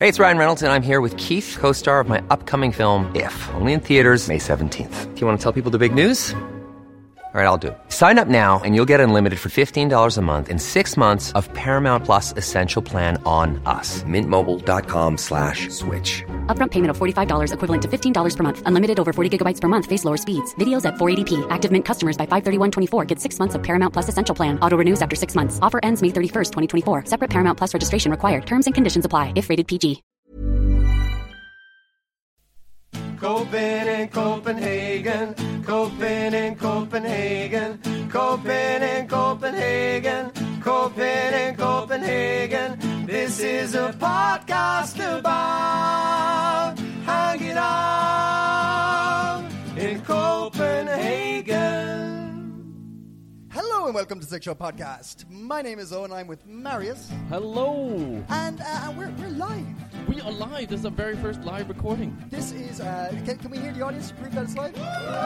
Hey, it's Ryan Reynolds, and I'm here with Keith, co-star of my upcoming film, If, only in theaters May 17th. Do you want to tell people the big news? All right, I'll do it. Sign up now and you'll get unlimited for $15 a month and 6 months of Paramount Plus Essential Plan on us. MintMobile.com/switch. Upfront payment of $45 equivalent to $15 per month. Unlimited over 40 gigabytes per month. Face lower speeds. Videos at 480p. Active Mint customers by 531.24 get 6 months of Paramount Plus Essential Plan. Auto renews after 6 months. Offer ends May 31st, 2024. Separate Paramount Plus registration required. Terms and conditions apply if rated PG. Copen in Copenhagen, Copen in Copenhagen, Copen in Copenhagen, Copen in Copenhagen. This is a podcast about hanging out in Copenhagen. Hello and welcome to Six Show Podcast. My name is Owen. I'm with Marius. Hello. And we're live. We are live. This is our very first live recording. This is, can we hear the audience to prove that it's live?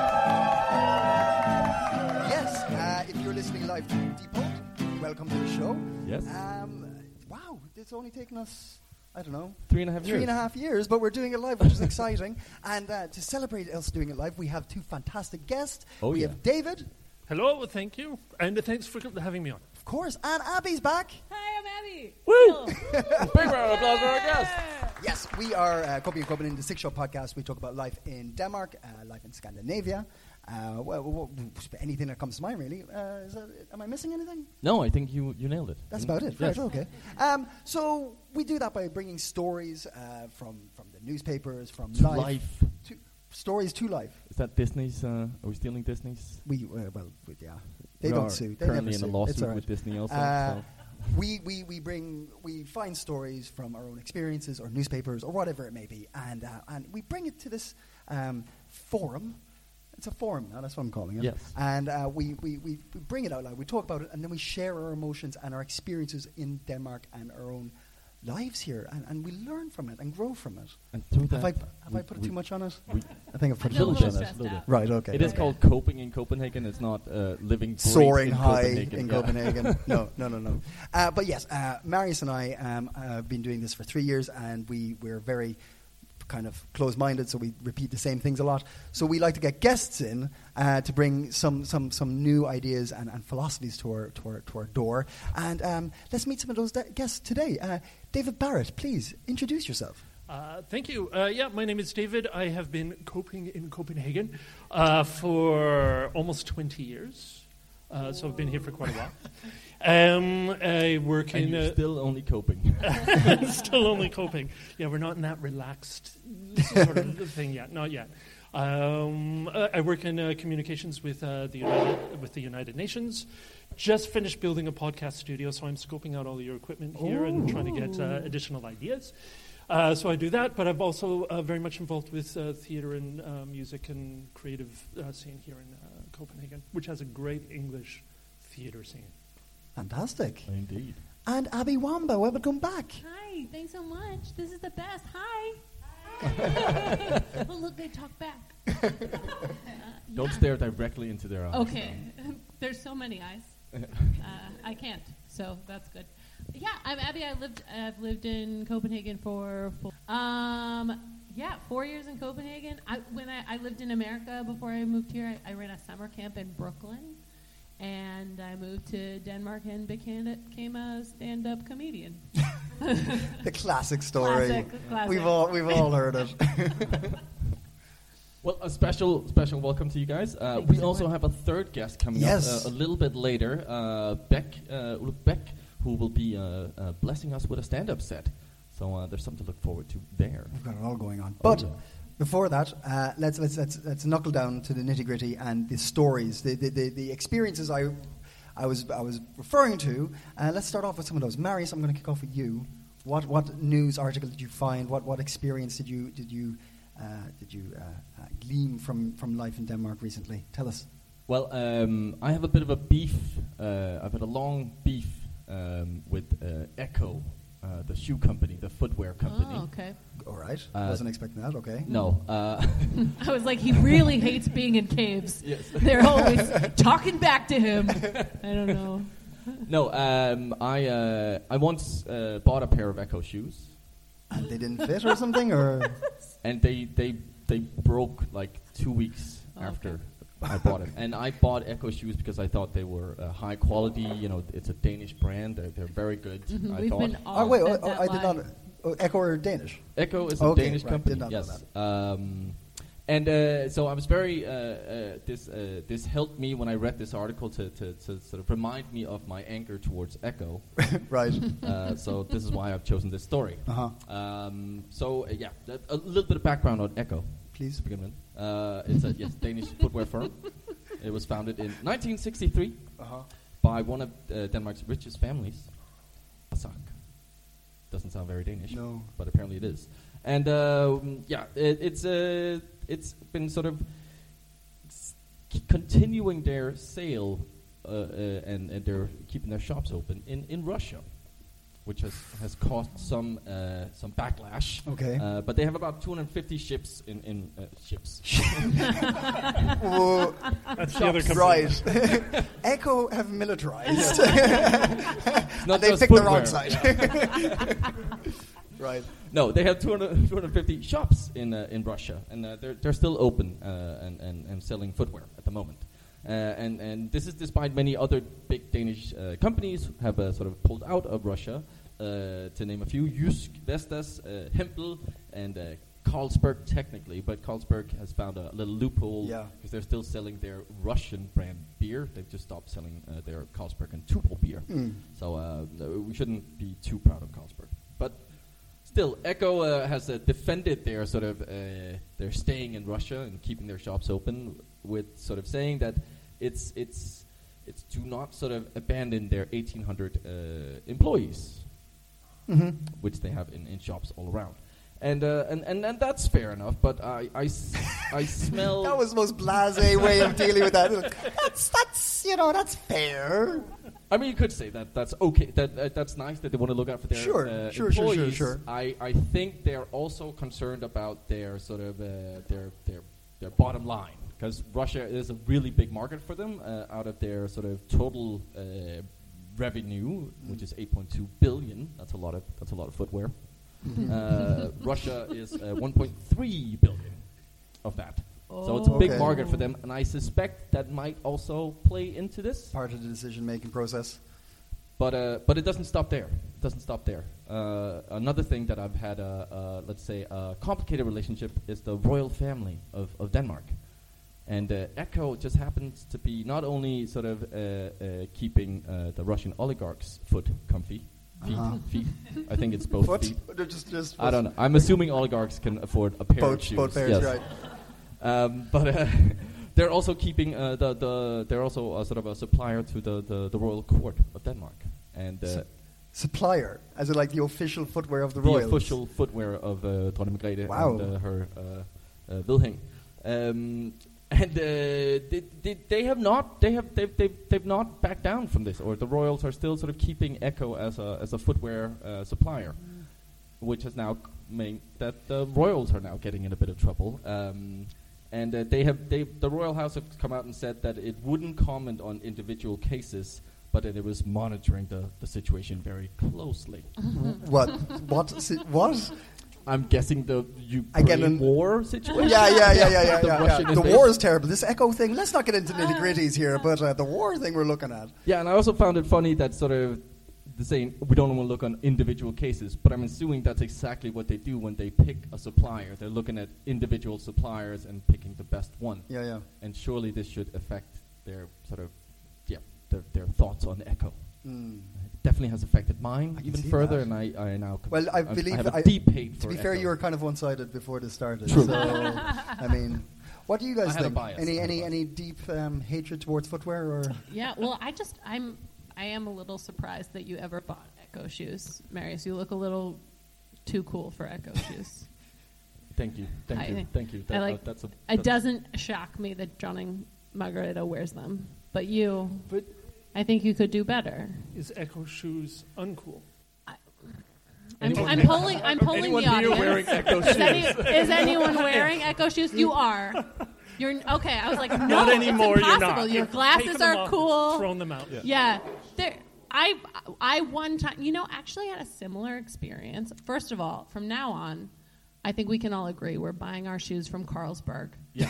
Yes, if you're listening live to Depot, welcome to the show. Yes. Wow, it's only taken us, I don't know, 3.5 years. 3.5 years, but we're doing it live, which is exciting. And to celebrate us doing it live, we have two fantastic guests. We have David. Hello, thank you, and thanks for having me on. Of course, and Abby's back. Hi, I'm Abby. Woo! Big round of applause for our guest. Yes, we are Coping and Coping in the Six Show Podcast. We talk about life in Denmark, life in Scandinavia. Anything that comes to mind, really. Am I missing anything? No, I think you nailed it. That's about it. Yes. Right, okay. So we do that by bringing stories from the newspapers, from life. Stories to life. Is that Disney's? Are we stealing Disney's? Yeah. They don't sue. They currently never in a sue. lawsuit It's all right. with Disney also. So. We find stories from our own experiences or newspapers or whatever it may be, and we bring it to this forum. It's a forum now, that's what I'm calling it. Yes. And we bring it out loud, we talk about it, and then we share our emotions and our experiences in Denmark and our own lives here, and we learn from it and grow from it. And through that, have I put too much on it? I think I've put I a feel little a bit little on it. stressed out. Right, okay. It is called Coping in Copenhagen. It's not living great Soaring in high Copenhagen. in Yeah. Copenhagen. No. But yes, Marius and I have been doing this for 3 years, and we're very kind of close-minded, so we repeat the same things a lot. So we like to get guests in to bring some new ideas and philosophies to our door. And let's meet some of those guests today. David Barrett, please introduce yourself. Thank you. My name is David. I have been coping in Copenhagen for almost 20 years. So I've been here for quite a while. I work And in... you're still only coping. still only coping. Yeah, we're not in that relaxed sort of thing yet. Not yet. I work in communications with the United Nations. Just finished building a podcast studio, so I'm scoping out all your equipment here and trying to get additional ideas. So I do that, but I'm also very much involved with theater and music and creative scene here in Copenhagen, which has a great English theater scene. Fantastic. Indeed. And Abby Wamba, welcome back. Hi, thanks so much. This is the best. Hi. Oh, look, they talk back. Don't stare directly into their eyes. Okay. There's so many eyes. I can't, so that's good. Yeah, I'm Abby. I've lived in Copenhagen for 4 years in Copenhagen. When I lived in America before I moved here, I ran a summer camp in Brooklyn. And I moved to Denmark and became a stand-up comedian. The classic story. Classic. We've all heard it. Well, a special welcome to you guys. We also have a third guest coming up a little bit later, Ulf Beck, who will be blessing us with a stand-up set. So there's something to look forward to there. We've got it all going on. But before that, let's knuckle down to the nitty-gritty and the stories, the experiences I was referring to. Let's start off with some of those. Marius, I'm going to kick off with you. What news article did you find? What experience did you glean from life in Denmark recently? Tell us. Well, I have a bit of a beef. I've had a long beef with Echo, the shoe company, the footwear company. Oh, okay. All right. Wasn't expecting that. Okay. No. I was like, he really hates being in caves. Yes. They're always talking back to him. I don't know. No, I once bought a pair of Echo shoes. And they didn't fit or something, or? And they broke like 2 weeks after I bought it. And I bought Ecco shoes because I thought they were high quality. You know, it's a Danish brand. They're very good. I thought. I did not. Ecco are Danish? Ecco is a Danish company. Did not know that. And so I was very. This helped me when I read this article to sort of remind me of my anger towards Ecco. Right. So this is why I've chosen this story. Uh-huh. A little bit of background on Ecco, please. to begin with. It's a Danish footwear firm. It was founded in 1963 by one of Denmark's richest families, Basak. Doesn't sound very Danish, no, but apparently it is. And it's been sort of continuing their sale and they're keeping their shops open in Russia, which has caused some backlash. Okay. But they have about 250 ships in ships. That's the other company. Right. Ecco have militarized. Not they just picked the footwear. wrong side. Right. No, they have 250 shops in Russia, and they're still open and selling footwear at the moment. And this is despite many other big Danish companies have sort of pulled out of Russia. To name a few, Jysk, Vestas, Hempel, and Carlsberg technically, but Carlsberg has found a little loophole because they're still selling their Russian brand beer. They've just stopped selling their Carlsberg and Tuborg beer. So we shouldn't be too proud of Carlsberg. But still, Ecco has defended their sort of their staying in Russia and keeping their shops open with sort of saying that it's to not sort of abandon their 1,800 employees, which they have in shops all around. And that's fair enough, but I smell... That was the most blasé way of dealing with that. That's fair. I mean, you could say that that's okay. That's nice that they want to look out for their employees. Sure. I think they're also concerned about their sort of their bottom line, because Russia is a really big market for them. Out of their sort of total revenue, which is 8.2 billion, that's a lot of footwear. Russia is 1.3 billion of that. So it's a big market for them, and I suspect that might also play into this. Part of the decision-making process. But it doesn't stop there. It doesn't stop there. Another thing that I've had, let's say, a complicated relationship is the royal family of Denmark. And Ecco just happens to be not only sort of keeping the Russian oligarchs' foot comfy, feet. I think it's both feet. Just I don't know. I'm assuming oligarchs can afford a pair of shoes. Both pairs, yes. right. But they're also keeping they're also sort of a supplier to the royal court of Denmark, and supplier, as in like the official footwear of the royals. The official footwear of Dronning Margrethe and her Vilhelm. And they've not backed down from this, or the royals are still sort of keeping Ecco as a footwear supplier, which has now made that the royals are now getting in a bit of trouble. And the royal house have come out and said that it wouldn't comment on individual cases, but that it was monitoring the situation very closely. What? I'm guessing the Ukraine war situation. Yeah. The war is terrible. This Ecco thing, let's not get into nitty-gritties here, but the war thing we're looking at. Yeah, and I also found it funny that sort of the saying, we don't want to look on individual cases, but I'm assuming that's exactly what they do when they pick a supplier. They're looking at individual suppliers and picking the best one. Yeah. And surely this should affect their sort of, their thoughts on Ecco. It definitely has affected mine even further, and I now... I believe... I have a deep hate for To be Ecco. fair, you were kind of one-sided before this started. True. So, I mean... What do you guys I had think? a bias. Any deep hatred towards footwear, or? Yeah, well, I am a little surprised that you ever bought Ecco shoes, Marius. You look a little too cool for Ecco shoes. Thank you. It doesn't shock me that Dronning Margrethe wears them, but I think you could do better. Is Ecco shoes uncool? I'm polling the audience. Wearing Ecco shoes? Is anyone wearing Ecco shoes? You are. You're okay. I was like, no, not anymore. It's impossible. You're not. Your glasses are cool. Thrown them out. Yeah. I one time, actually had a similar experience. First of all, from now on, I think we can all agree we're buying our shoes from Carlsberg. Yeah.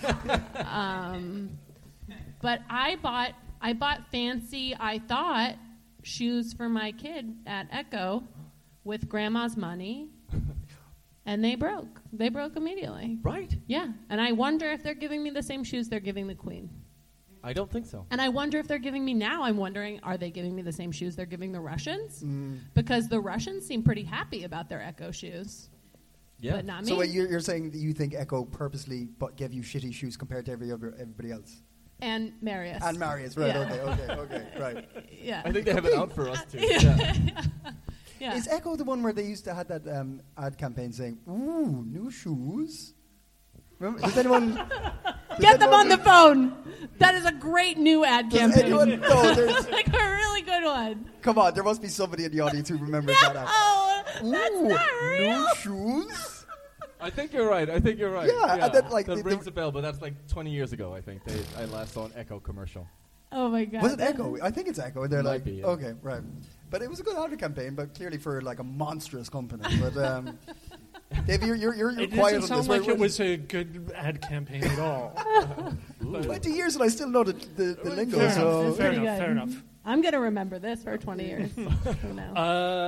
But I bought fancy, I thought, shoes for my kid at Echo with grandma's money, and they broke. They broke immediately. Right? Yeah, and I wonder if they're giving me the same shoes they're giving the Queen. I don't think so. And I wonder if they're giving me now. I'm wondering, are they giving me the same shoes they're giving the Russians? Because the Russians seem pretty happy about their Echo shoes. Yeah. But not me. So you're saying that you think Echo purposely gave you shitty shoes compared to everybody else? And Marius. And Marius, right, Yeah. okay, right. Yeah. I think they have it out for us, too. Yeah. Is Echo the one where they used to have that ad campaign saying, ooh, new shoes? Remember, does anyone... Get them on the phone. That is a great new ad Does campaign. anyone know there's... like a really good one. Come on, there must be somebody in the audience who remembers that ad. Oh, that's Ooh, not real. new shoes? I think you're right. Yeah, and then, like, that the- rings a bell, but that's like 20 years ago, I think. I last saw an Echo commercial. Oh, my God. Was it Echo? I think it's Echo. And they're Might like, be, yeah. okay, right. But it was a good ad campaign, but clearly for like a monstrous company. But Dave, you're It quiet doesn't on sound this. like it was a good ad campaign at all. 20 years and I still know the lingo. Fair So enough. Fair Pretty enough. good. Fair enough. I'm going to remember this for 20 years from now.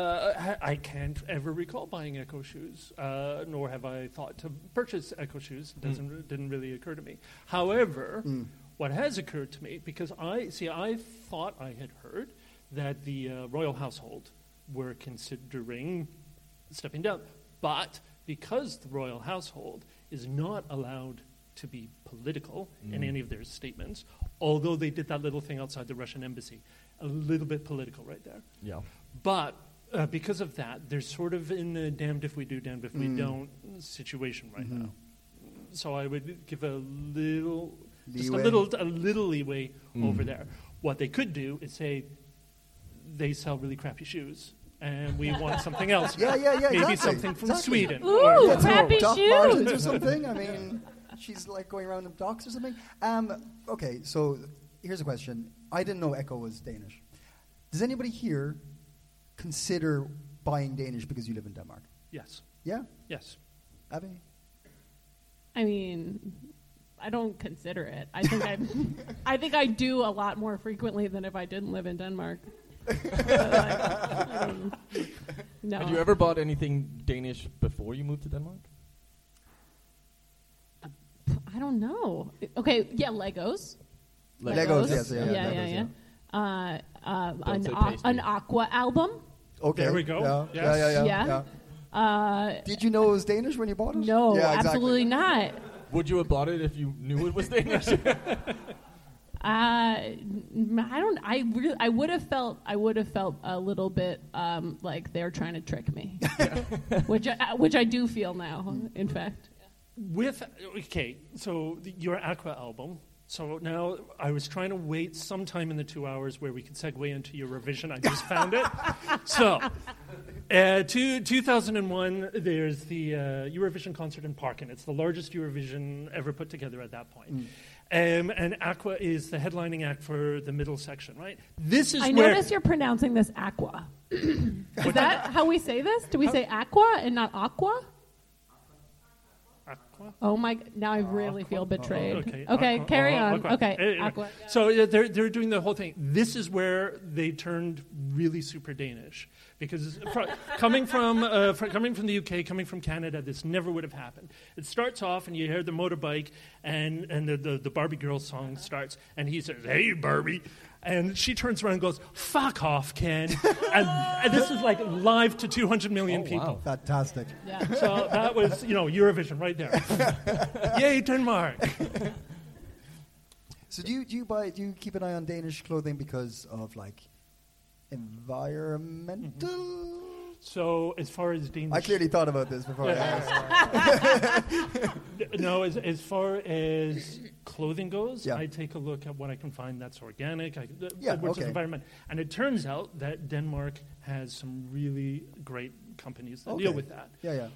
I can't ever recall buying Echo shoes, nor have I thought to purchase Echo shoes. It didn't really occur to me. However, what has occurred to me, because I thought I had heard that the royal household were considering stepping down, but because the royal household is not allowed to be political in any of their statements, although they did that little thing outside the Russian embassy, a little bit political right there. Yeah. But because of that, they're sort of in a damned if we do, damned if we don't situation right now. So I would give a little leeway over there. What they could do is say they sell really crappy shoes, and we want something else. Yeah, Maybe exactly. something from Sweden. Ooh, or happy Doc shoes. Martens or something. I mean, she's like going around in docks or something. Okay, so here's a question. I didn't know Echo was Danish. Does anybody here consider buying Danish because you live in Denmark? Yes. Yeah? Yes. Abby? I mean, I don't consider it. I think I do a lot more frequently than if I didn't live in Denmark. No. Had you ever bought anything Danish before you moved to Denmark? I don't know. Okay, yeah, Legos. Legos, yes, yeah. Yeah. Don't say An Aqua album. Okay. There we go. Yeah. Yes. Yeah. Did you know it was Danish when you bought it? No, Yeah, exactly. absolutely not. Would you have bought it if you knew it was Danish? I don't. I would have felt a little bit like they're trying to trick me, which I do feel now. In fact, so your Aqua album. So now I was trying to wait some time in the 2 hours where we could segue into Eurovision. I just found it. So, 2001, there's the Eurovision concert in Parken. It's the largest Eurovision ever put together at that point. And Aqua is the headlining act for the middle section, right? This is I where notice you're pronouncing this Aqua. Is that how we say this? Do we say Aqua and not Aqua? Aqua? Oh my! Now I really feel betrayed. Okay. Okay, Aqua. carry on. Aqua. Okay, Anyway, Aqua. So they're doing the whole thing. This is where they turned really super Danish because coming from the UK, coming from Canada, this never would have happened. It starts off and you hear the motorbike and the Barbie girl song starts and he says, "Hey Barbie." And she turns around and goes, "Fuck off, Ken." and this is like live to 200 million people. Wow. Fantastic. Yeah. So that was, Eurovision right there. Yay, Denmark. So do you keep an eye on Danish clothing because of like environmental? So as far as Danish... I clearly thought about this before I asked. No, as far as clothing goes, Yeah. I take a look at what I can find that's organic, Yeah, which is okay. environment. And it turns out that Denmark has some really great companies that deal Okay. with that. Yeah.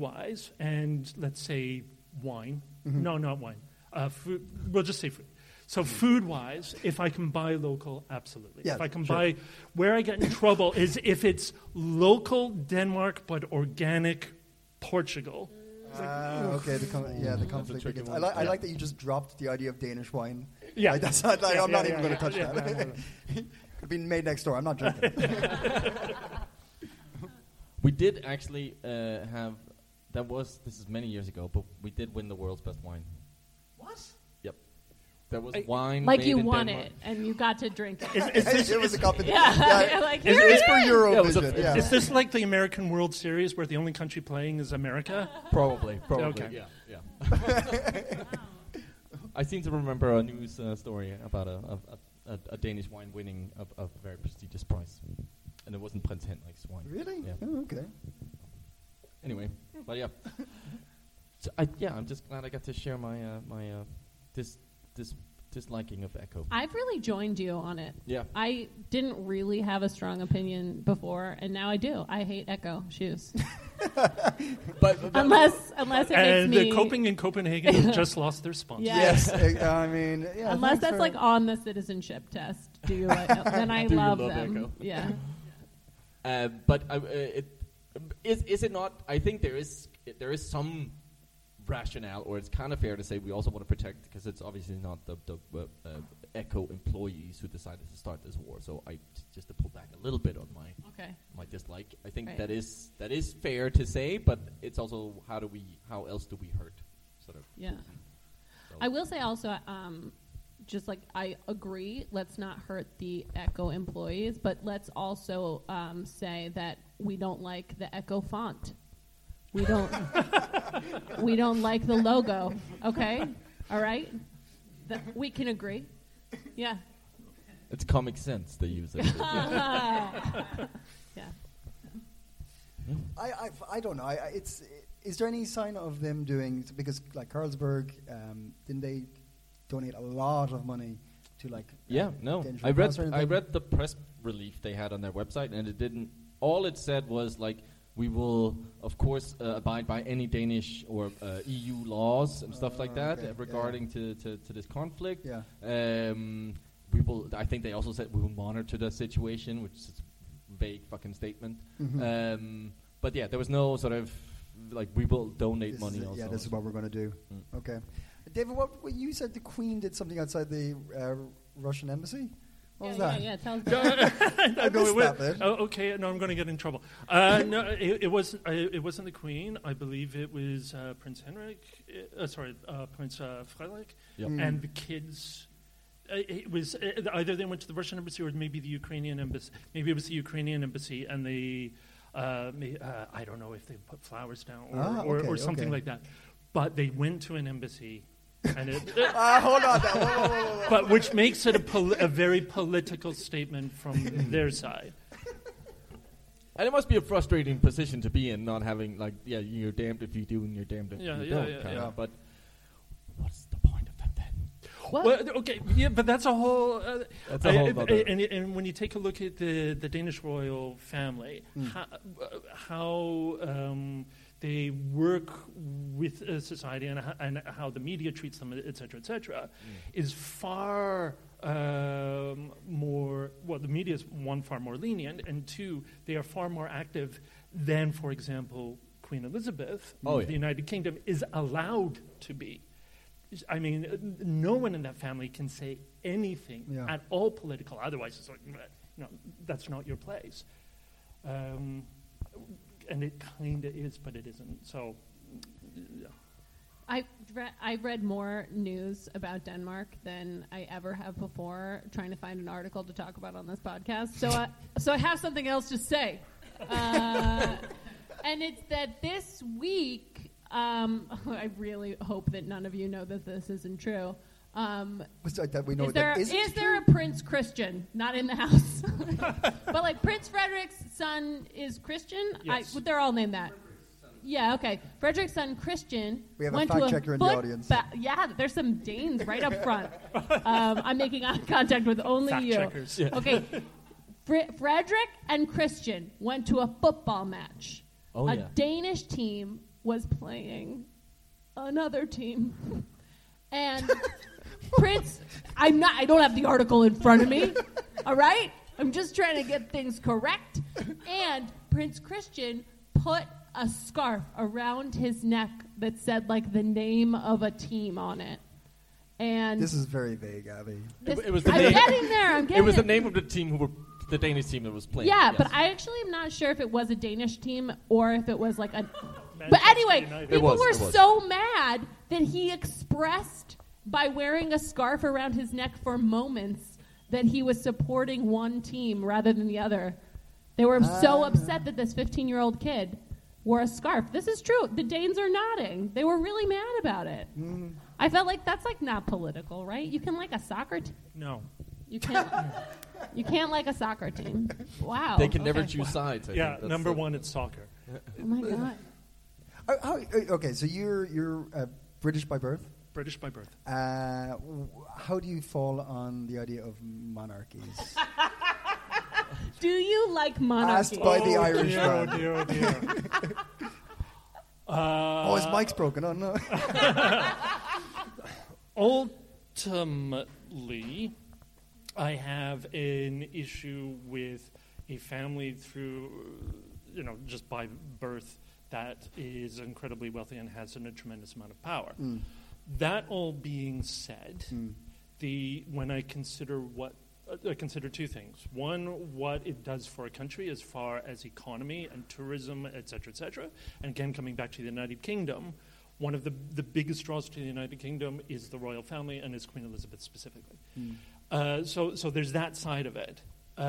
Food-wise, and let's say wine. Mm-hmm. No, not wine. Food, we'll just say food. So food-wise, if I can buy local, absolutely. Yeah, if I can sure. buy, where I get in trouble is if it's local Denmark but organic Portugal. Okay, the conflict begins. I like that you just dropped the idea of Danish wine. Yeah. Like, that's not, like, I'm not even going to touch yeah, that. no. Could have been made next door. I'm not drinking. We did actually have, this is many years ago, but we did win the world's best wine. What? Yep. There was wine Like made you in won Denmark. it and you got to drink it. It was a competition. Yeah, like, here It's it for is. Eurovision. Yeah, Is this like the American World Series where the only country playing is America? Probably. Okay. Yeah. I seem to remember a news story about a Danish wine winning a very prestigious prize. And it wasn't Prince Henrik's wine. Really? Yeah. Oh, okay. Anyway, but yeah. So I'm just glad I got to share my this disliking of Echo. I've really joined you on it. Yeah. I didn't really have a strong opinion before, and now I do. I hate Echo shoes. But unless it makes And me... Coping in Copenhagen has just lost their sponsor. Yeah. Yes, I mean, yeah. Unless thanks that's for- like on the citizenship test, then I Do you love love them. Echo? Yeah. but is it not? I think there is some rationale, or it's kind of fair to say we also want to protect, because it's obviously not the Echo employees who decided to start this war. So just to pull back a little bit on my dislike. I think Right. that is fair to say, but it's also how else do we hurt, sort of. Yeah. So. I will say also, just like I agree, let's not hurt the Echo employees, but let's also say that we don't like the Echo font. We don't like the logo. Okay, all right. We can agree. Yeah. It's Comic Sense they use it. Yeah. I don't know. Is there any sign of them doing, because like Carlsberg, didn't they donate a lot of money to like? No. Danish I Red Cross or anything? read the press relief they had on their website, and it didn't. All it said was like, we will, of course, abide by any Danish or EU laws and stuff like that regarding to this conflict. Yeah. We will. I think they also said we will monitor the situation, which is a vague fucking statement. Mm-hmm. But yeah, there was no sort of like we will donate money. Also, Yeah, this is what we're going to do. Okay. David, what you said the Queen did something outside the Russian embassy? What was that? Yeah, tell us. I missed that bit. Okay, no, I'm going to get in trouble. No, it wasn't. It wasn't the Queen. I believe it was Prince Henrik. Prince Frederik, and the kids. It was either they went to the Russian embassy or maybe the Ukrainian embassy. Maybe it was the Ukrainian embassy, and they. I don't know if they put flowers down or something like that. But they went to an embassy. And hold on. Whoa. But which makes it a very political statement from their side. And it must be a frustrating position to be in, not having you're damned if you do and you're damned if you don't. Yeah. But what's the point of that then? Well, okay, yeah, but that's a whole. That's a whole other. And when you take a look at the Danish royal family, how they work with society and how the media treats them, et cetera, is far more. Well, the media is far more lenient, and two, they are far more active than, for example, Queen Elizabeth of the United Kingdom is allowed to be. I mean, no one in that family can say anything at all political. Otherwise, it's like, that's not your place. And it kind of is, but it isn't. So, I read more news about Denmark than I ever have before, trying to find an article to talk about on this podcast. So I have something else to say, and it's that this week. I really hope that none of you know that this isn't true. That we know is there a Prince Christian? Not in the house. But like Prince Frederick's son is Christian? Yes. They're all named that. Yeah, okay. Frederick's son Christian we have went a fact to checker in the audience. There's some Danes right up front. I'm making eye contact with only fact you. checkers. Yeah. Okay. Frederick and Christian went to a football match. Danish team was playing another team. And Prince, I don't have the article in front of me, all right? I'm just trying to get things correct. And Prince Christian put a scarf around his neck that said, like, the name of a team on it. And this is very vague, Abby. It was the I'm name. getting there. It was the name of the team the Danish team that was playing. Yeah, yes. but I actually am not sure if it was a Danish team or if it was like a... But anyway, people were so mad that he expressed by wearing a scarf around his neck for moments that he was supporting one team rather than the other. They were so upset that this 15-year-old kid wore a scarf. This is true. The Danes are nodding. They were really mad about it. I felt like that's like not political, right? You can like a soccer team. No. You can't. You can't like a soccer team. Wow. They can never choose sides. I think. Number one, it's soccer. Oh my God. Okay, so you're British by birth. British by birth. How do you fall on the idea of monarchies? Do you like monarchy? Asked by the Irish man. Oh dear. His mic's broken. Oh no. Ultimately, I have an issue with a family through, just by birth that is incredibly wealthy and has a tremendous amount of power. That all being said, when I consider I consider two things. One, what it does for a country as far as economy and tourism, et cetera, and again, coming back to the United Kingdom, one of the biggest draws to the United Kingdom is the royal family and is Queen Elizabeth specifically. So there's that side of it.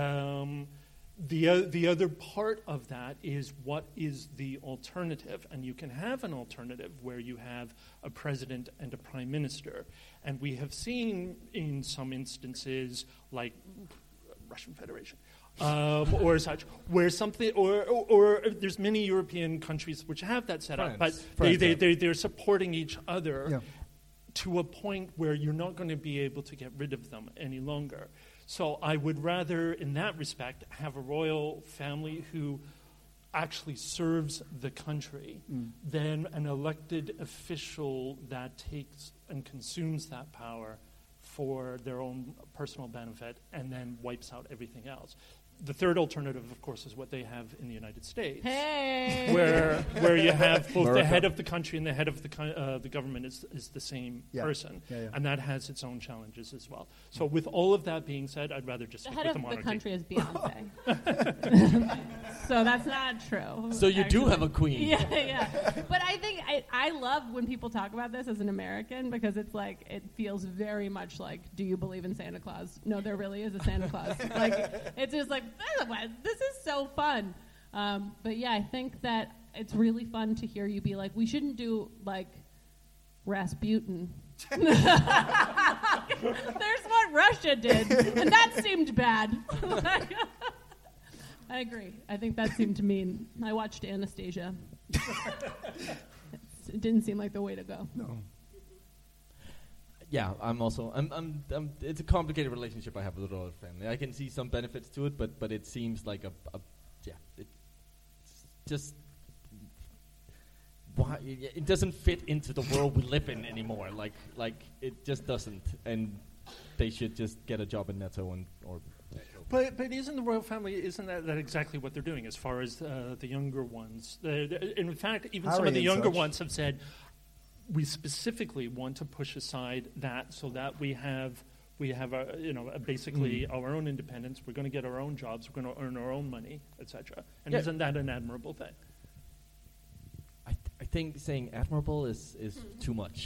The other part of that is what is the alternative, and you can have an alternative where you have a president and a prime minister, and we have seen in some instances like Russian Federation or such, where something or there's many European countries which have that set up, but they're supporting each other to a point where you're not going to be able to get rid of them any longer. So I would rather, in that respect, have a royal family who actually serves the country than an elected official that takes and consumes that power for their own personal benefit and then wipes out everything else. The third alternative, of course, is what they have in the United States, where you have both the head of the country and the head of the government is the same person, and that has its own challenges as well. So, with all of that being said, I'd rather just stick with the monarchy. The country is Beyonce, so that's not true. So you do have a queen. Yeah. But I think I love when people talk about this as an American because it's like it feels very much like, do you believe in Santa Claus? No, there really is a Santa Claus. Like it's just like. This is so fun. But yeah, I think that it's really fun to hear you be like, we shouldn't do like Rasputin. There's what Russia did, and that seemed bad. I agree. I think that seemed mean. I watched Anastasia. It didn't seem like the way to go. No. Yeah, I'm it's a complicated relationship I have with the royal family. I can see some benefits to it, but it seems like it's just why it doesn't fit into the world we live in anymore. Like it just doesn't, and they should just get a job in Netto or. But isn't the royal family, isn't that exactly what they're doing as far as the younger ones? In fact, even Harry some of the younger such. ones have said, we specifically want to push aside that so that we have basically our own independence. We're going to get our own jobs. We're going to earn our own money, etc. And isn't that an admirable thing? I think saying admirable is too much.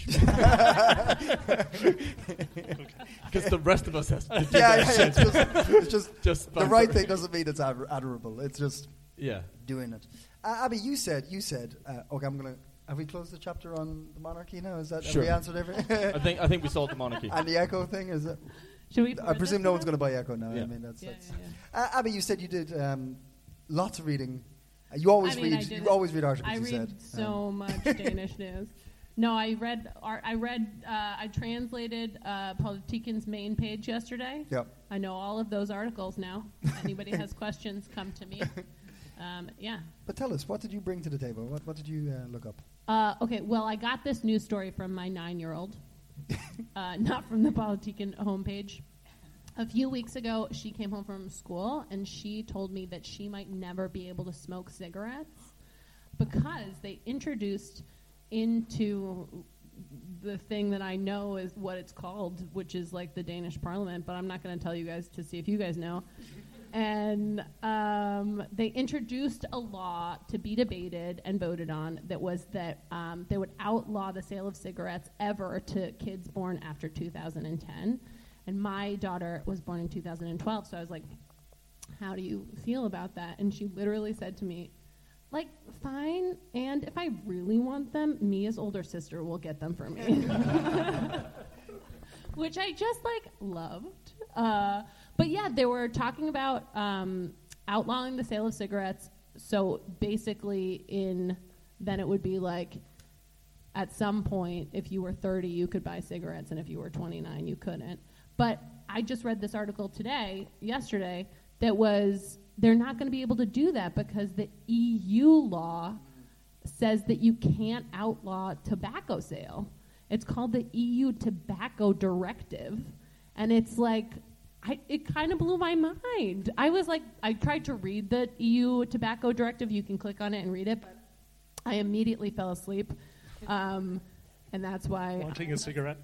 Because the rest of us has to do that. It's just the right thing doesn't mean it's admirable. It's just doing it. Abby, you said. Okay, I'm gonna. Have we closed the chapter on the monarchy now? Is that sure. Have we answered everything? I think we solved the monarchy. And the Echo thing is it? Should we? I presume no one's going to buy Echo now. Yeah. I mean that's. Abby, you said you did lots of reading. You always read. You always read articles. I you read said. so much Danish news. No, I translated Politiken's main page yesterday. Yep. I know all of those articles now. Anybody has questions, come to me. But tell us, what did you bring to the table? What did you look up? Okay, well, I got this news story from my 9-year-old. not from the Politiken homepage. A few weeks ago, she came home from school, and she told me that she might never be able to smoke cigarettes because they introduced into the thing that I know is what it's called, which is like the Danish parliament, but I'm not going to tell you guys to see if you guys know. And they introduced a law to be debated and voted on that was that they would outlaw the sale of cigarettes ever to kids born after 2010. And my daughter was born in 2012, so I was like, how do you feel about that? And she literally said to me, like, fine, and if I really want them, Mia's older sister will get them for me. Which I just, like, loved. But yeah, they were talking about outlawing the sale of cigarettes. So basically then it would be like, at some point, if you were 30, you could buy cigarettes, and if you were 29, you couldn't. But I just read this article yesterday, that was they're not going to be able to do that because the EU law says that you can't outlaw tobacco sale. It's called the EU Tobacco Directive. And it's like, it kind of blew my mind. I was like, I tried to read the EU Tobacco Directive. You can click on it and read it, but I immediately fell asleep. And that's why... Wanting a cigarette?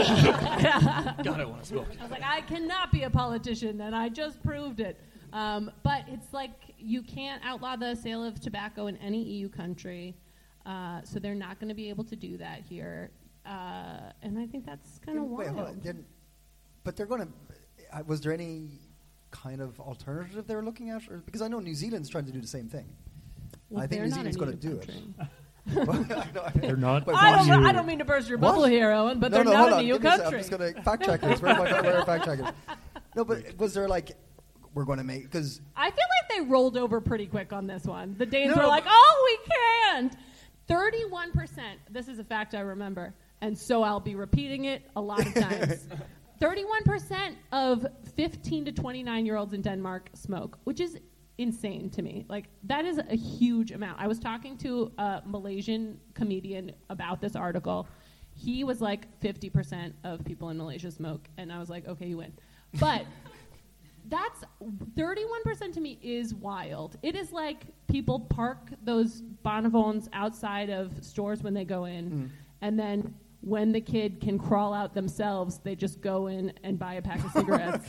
God, I want to smoke. I was like, I cannot be a politician, and I just proved it. But it's like you can't outlaw the sale of tobacco in any EU country, so they're not going to be able to do that here. And I think that's kind of wild. Hold on. But they're going to... was there any kind of alternative they were looking at? Because I know New Zealand's trying to do the same thing. Well, I think New Zealand's going to do it. They're not. I don't mean to burst your bubble here, Owen, but they're not an EU country. I'm just going to fact check this. Where are fact checkers? No, but was there like, we're going to make, because... I feel like they rolled over pretty quick on this one. The Danes were like, oh, we can't. 31%, this is a fact I remember, and so I'll be repeating it a lot of times. 31% of 15 to 29-year-olds in Denmark smoke, which is insane to me. Like, that is a huge amount. I was talking to a Malaysian comedian about this article. He was like, 50% of people in Malaysia smoke, and I was like, okay, you win. But that's 31% to me is wild. It is like people park those bonbons outside of stores when they go in, and then when the kid can crawl out themselves, they just go in and buy a pack of cigarettes.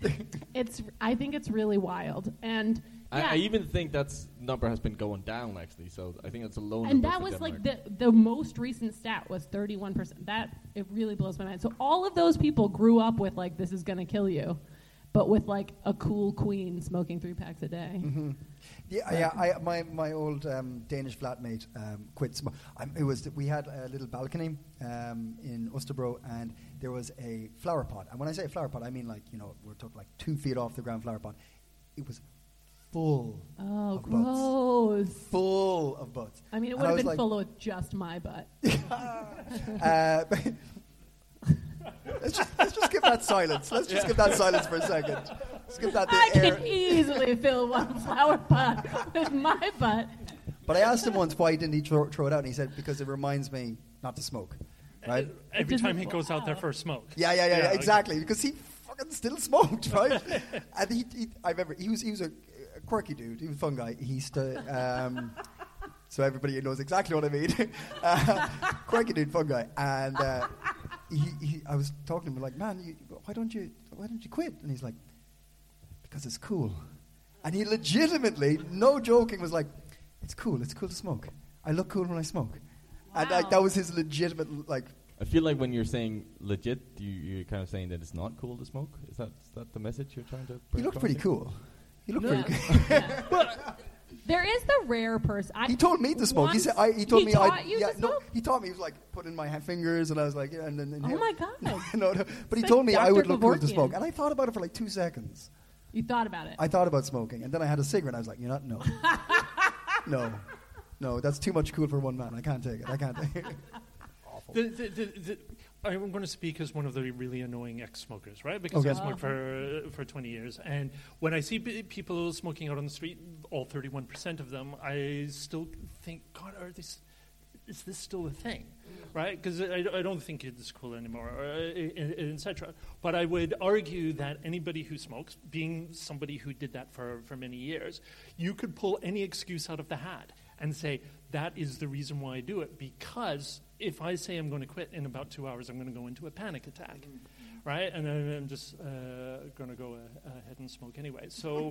I think it's really wild. And yeah. I even think that number has been going down, actually. So I think that's a low number. And that was like the most recent stat was 31%. It really blows my mind. So all of those people grew up with like, this is going to kill you, but with like a cool queen smoking 3 packs a day. Mm-hmm. My old Danish flatmate quit smoking. We had a little balcony in Osterbro, and there was a flower pot. And when I say a flower pot, I mean like, we're talking like 2 feet off the ground flower pot. It was full of gross. Butts. Full of butts. I mean, it would have been full of just my butt. Let's just give that silence. Let's just give that silence for a second. Let's give that I can easily fill one flower pot with my butt. But I asked him once why didn't he throw it out, and he said because it reminds me not to smoke. Right? Every time he goes out there for a smoke. Yeah, exactly. Okay. Because he fucking still smoked, right? And I remember he was a quirky dude. He was a fun guy. He used to. So everybody knows exactly what I mean. Quirky dude, fun guy, and. I was talking to him like, man, why don't you quit? And he's like, because it's cool. And he legitimately, no joking, was like, it's cool to smoke. I look cool when I smoke. Wow. And that was his legitimate, like... I feel like when you're saying legit, you're kind of saying that it's not cool to smoke? Is that the message you're trying to bring? You look pretty cool. You look pretty cool. Yeah. There is the rare person. He told me to smoke. He said. He told me. He taught me. He was like putting my fingers, and I was like, yeah, and then. Oh my god! No. But he told me I would look cool to smoke, and I thought about it for like 2 seconds. You thought about it. I thought about smoking, and then I had a cigarette. I was like, no, no, that's too much cool for one man. I can't take it. Awful. I'm going to speak as one of the really annoying ex-smokers, right? Because I smoked for 20 years. And when I see people smoking out on the street, all 31% of them, I still think, God, is this still a thing? Right? Because I don't think it's cool anymore, etc. But I would argue that anybody who smokes, being somebody who did that for many years, you could pull any excuse out of the hat and say, that is the reason why I do it. Because if I say I'm going to quit in about 2 hours, I'm going to go into a panic attack. Right? And then I'm just going to go ahead and smoke anyway. So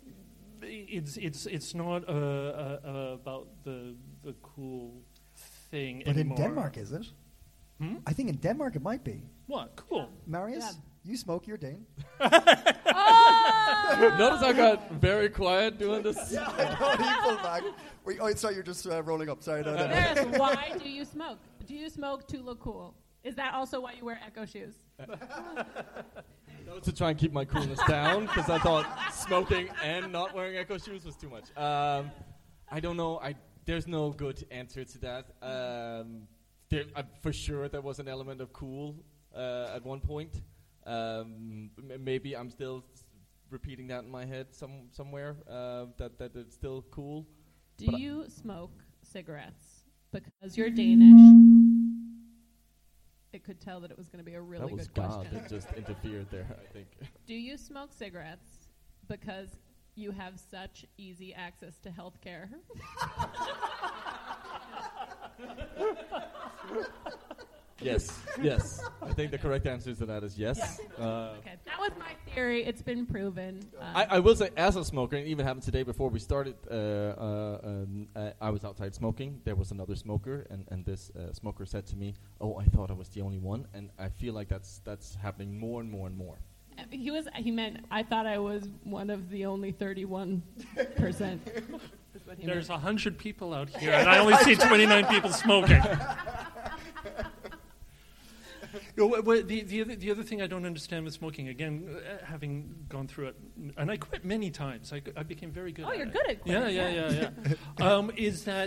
it's not about the cool thing but anymore. in Denmark, is it? I think in Denmark it might be. What? Cool. Marius, you smoke, you're Dane. Notice I got very quiet doing this. Yeah, I know. He pulled back. Wait, sorry, you're just rolling up. Sorry, no. Marius, why do you smoke? Do you smoke to look cool? Is that also why you wear Echo shoes? No, to try and keep my coolness down, because I thought smoking and not wearing Echo shoes was too much. I don't know. There's no good answer to that. For sure, there was an element of cool at one point. Maybe I'm still repeating that in my head somewhere, that it's still cool. Do you smoke cigarettes because you're Danish? It could tell that it was going to be a really good question. That was God that just interfered there, I think. Do you smoke cigarettes because you have such easy access to health care? Yes. I think the correct answer to that is yes. Yeah. Okay, that was my theory. It's been proven. I will say, as a smoker, and it even happened today before we started, I was outside smoking. There was another smoker, and this smoker said to me, "Oh, I thought I was the only one," and I feel like that's happening more and more and more. He meant, I thought I was one of the only 31%. There's 100 people out here, and I only see 29 people smoking. The other thing I don't understand with smoking, again, having gone through it, and I quit many times. I became very good at it. Oh, you're good at quitting. Yeah. Is that...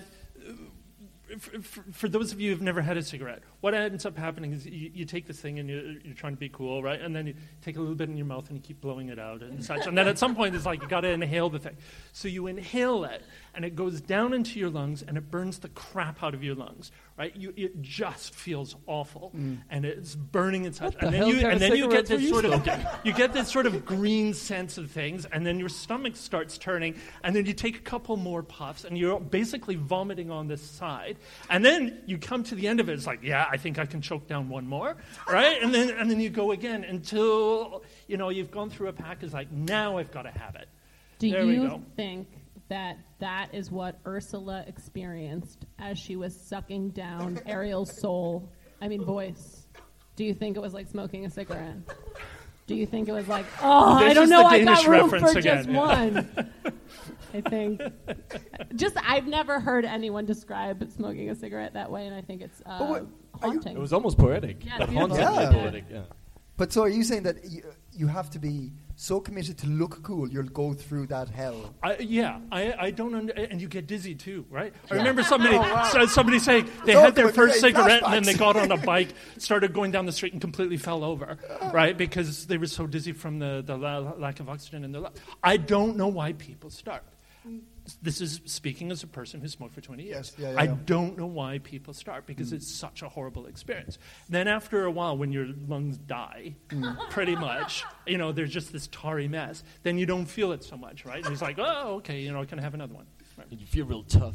For those of you who've never had a cigarette, what ends up happening is you take this thing and you're trying to be cool, right? And then you take a little bit in your mouth and you keep blowing it out and such. And then at some point it's like you got to inhale the thing. So you inhale it and it goes down into your lungs and it burns the crap out of your lungs, right? It just feels awful and it's burning inside. And then you get this sort of green sense of things, and then your stomach starts turning, and then you take a couple more puffs and you're basically vomiting on this side. And then you come to the end of it. It's like, yeah, I think I can choke down one more, right? And then you go again until you've gone through a pack. It's like, now I've got to have it. Do you think that is what Ursula experienced as she was sucking down Ariel's voice? Do you think it was like smoking a cigarette? Do you think it was like, I don't know, I got room for just one? I think I've never heard anyone describe smoking a cigarette that way, and I think it's haunting. It was almost poetic. Yeah, but hauntingly poetic, yeah. But so are you saying that you have to be so committed to look cool, you'll go through that hell? I don't and you get dizzy too, right? I remember somebody saying they had their first cigarette and then they got on a bike, started going down the street and completely fell over, right? Because they were so dizzy from the lack of oxygen in their lungs. I don't know why people start. This is speaking as a person who smoked for 20 years. Yes, I don't know why people start, because it's such a horrible experience. Then after a while, when your lungs die, pretty much, there's just this tarry mess, then you don't feel it so much, right? And it's like, oh, okay, I can have another one. Right. You feel real tough.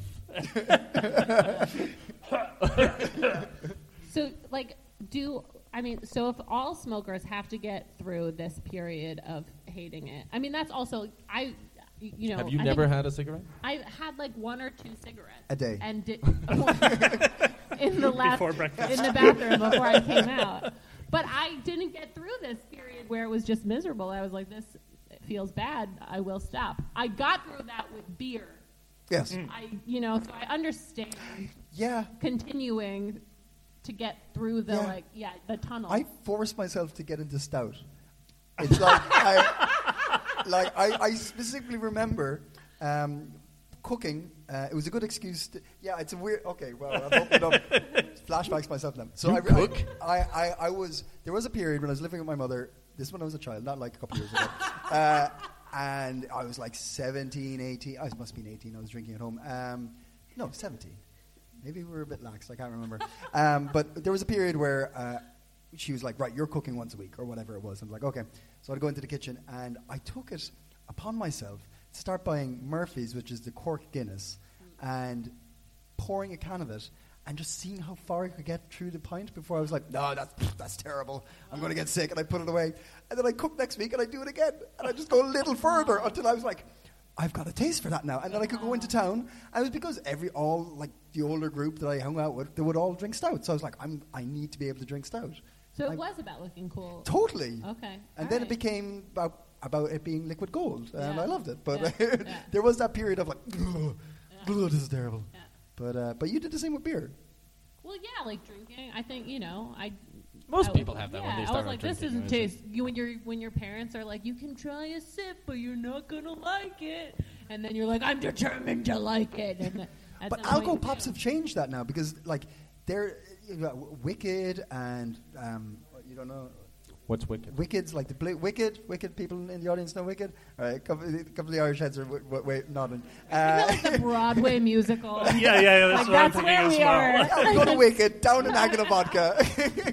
So if all smokers have to get through this period of hating it, that's also, have you never had a cigarette? I had like 1 or 2 cigarettes a day, and in the bathroom before I came out. But I didn't get through this period where it was just miserable. I was like, this feels bad. I will stop. I got through that with beer. Yes. So I understand. Yeah. Continuing to get through the the tunnel. I forced myself to get into stout. It's like I specifically remember cooking. It was a good excuse. It's a weird. Okay, well, I've opened up flashbacks myself now. So I was. There was a period when I was living with my mother. This when I was a child, not like a couple years ago. And I was like 17, 18. I must have been 18. I was drinking at home. No, 17. Maybe we were a bit lax. I can't remember. But there was a period where she was like, right, you're cooking once a week or whatever it was. I'm like, okay. So I'd go into the kitchen, and I took it upon myself to start buying Murphy's, which is the Cork Guinness, and pouring a can of it and just seeing how far I could get through the pint before I was like, no, that's terrible. I'm going to get sick, and I put it away. And then I cook next week, and I do it again. And I just go a little further until I was like, I've got a taste for that now. And then I could go into town. And it was because the older group that I hung out with, they would all drink stout. So I was like, I need to be able to drink stout. So it was about looking cool. Totally. Okay. And then it became about it being liquid gold. And I loved it. But there was that period of like, this is terrible. Yeah. But you did the same with beer. Well, yeah, like drinking. I think, Most people have that when they start I was like, drinking. this doesn't taste. When your parents are like, you can try a sip, but you're not gonna like it, and then you're like, I'm determined to like it. And but alcohol pops have changed that now because like they're Wicked and you don't know. What's Wicked? Wicked's like the Wicked people in the audience know Wicked? All right, a couple of the Irish heads are nodding. Like the Broadway musical. Yeah, that's what I'm thinking as well. Yeah, go to Wicked, down in Agata Vodka.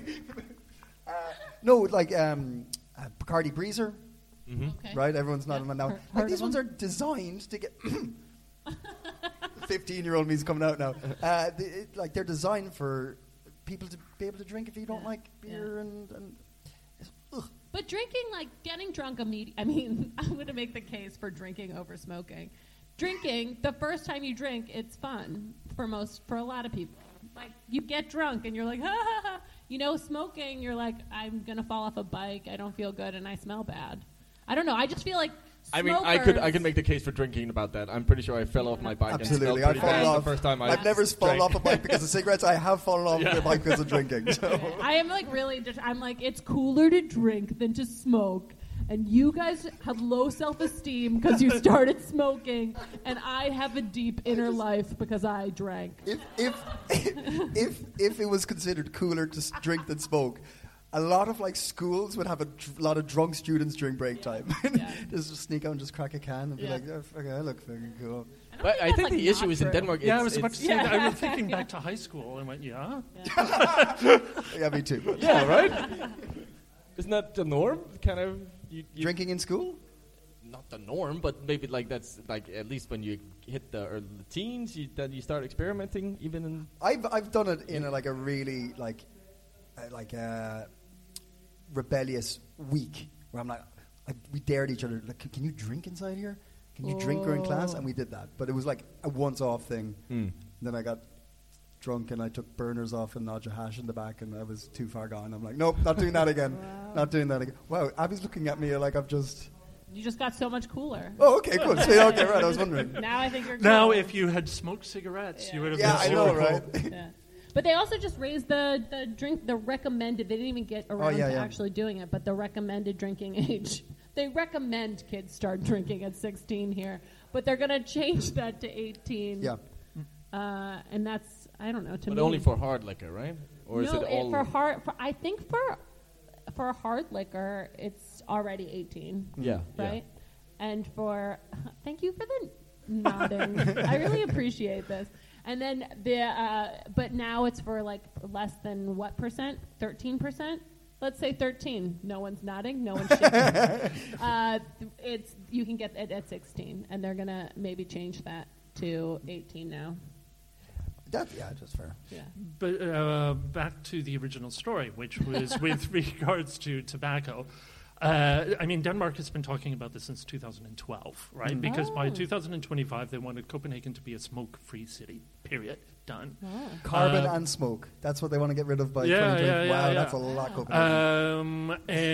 No, like Bacardi Breezer. Mm-hmm. Okay. Right, everyone's nodding now. Like, these ones are designed to get... 15-year-old me's coming out now. They're designed for people to be able to drink if you don't like beer and But drinking, like getting drunk immediately. I mean, I'm going to make the case for drinking over smoking. Drinking, the first time you drink, it's fun for a lot of people. Like you get drunk and you're like, ha ha ha. Smoking, you're like, I'm going to fall off a bike. I don't feel good and I smell bad. I don't know. I just feel like. Smokers. I mean, I could make the case for drinking about that. I'm pretty sure I fell off my bike. Absolutely, and I've fallen off. The first time I've never fallen off a bike because of cigarettes. I have fallen off a bike because of drinking. So. I am like really. I'm like, it's cooler to drink than to smoke. And you guys have low self-esteem because you started smoking, and I have a deep inner life because I drank. If it was considered cooler to drink than smoke, a lot of schools would have a lot of drunk students during break time. Just sneak out and just crack a can and be like, oh, okay, I look fucking cool. But I think the issue is in Denmark. I was about to say that. I was thinking back to high school and went, yeah, me too. Yeah, right. Isn't that the norm? Kind of you drinking in school. Not the norm, but maybe that's at least when you hit the early teens, then you start experimenting. Even in I've done it in a really rebellious week where I'm like, we dared each other. Like, can you drink inside here? Can you drink during class? And we did that, but it was like a once-off thing. Then I got drunk and I took burners off and Nadja Hash in the back, and I was too far gone. I'm like, nope, not doing that again. Not doing that again. Wow, Abby's looking at me like I've just. You just got so much cooler. Oh, okay, good. So, okay, right. I was wondering. Now I think you're cool. Now, if you had smoked cigarettes, you would have been super cool. Right? Yeah. But they also just raised the recommended. They didn't even get around to actually doing it, but the recommended drinking age. They recommend kids start drinking at 16 here, but they're going to change that to 18. Yeah. And that's, I don't know, to me. But only for hard liquor, right? Or is it all... I think for hard liquor, it's already 18. Yeah. Right? Yeah. And thank you for the nodding. I really appreciate this. And then but now it's for less than what percent? 13%? Let's say 13. No one's nodding. No one's shaking. You can get it at 16, and they're gonna maybe change that to 18 now. That's fair. Yeah. But back to the original story, which was with regards to tobacco. I mean, Denmark has been talking about this since 2012, right? Mm. Because by 2025, they wanted Copenhagen to be a smoke-free city, period. Done. Oh. Carbon and smoke. That's what they want to get rid of by 2020. Wow, that's a lot, Copenhagen.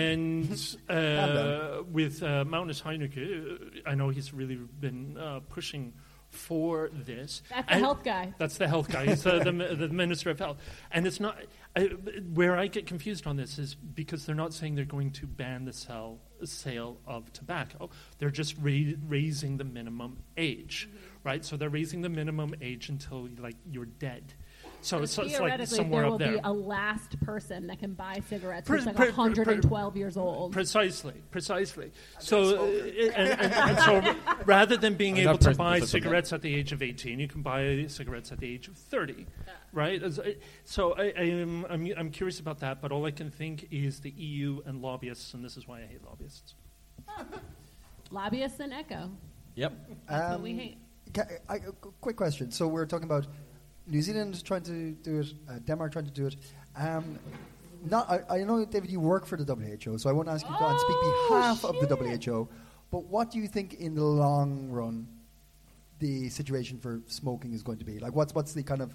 With Magnus Heunicke, I know he's really been pushing for this. That's the health guy. That's the health guy. He's the Minister of Health. And it's not... where I get confused on this is because they're not saying they're going to ban the sale of tobacco. They're just raising the minimum age, right? So they're raising the minimum age until you're dead. So it's like theoretically, somewhere there up will there. be a last person that can buy cigarettes who's like 112 years old. Precisely. So, and so rather than being able to buy cigarettes at the age of 18, you can buy cigarettes at the age of 30, right? So I'm curious about that, but all I can think is the EU and lobbyists, and this is why I hate lobbyists. Lobbyists and Echo. Yep. That's what we hate. Quick question. So we're talking about New Zealand trying to do it, Denmark trying to do it. I know, David, you work for the WHO, so I won't ask you to go and speak behalf of the WHO, but what do you think in the long run the situation for smoking is going to be? Like, what's the kind of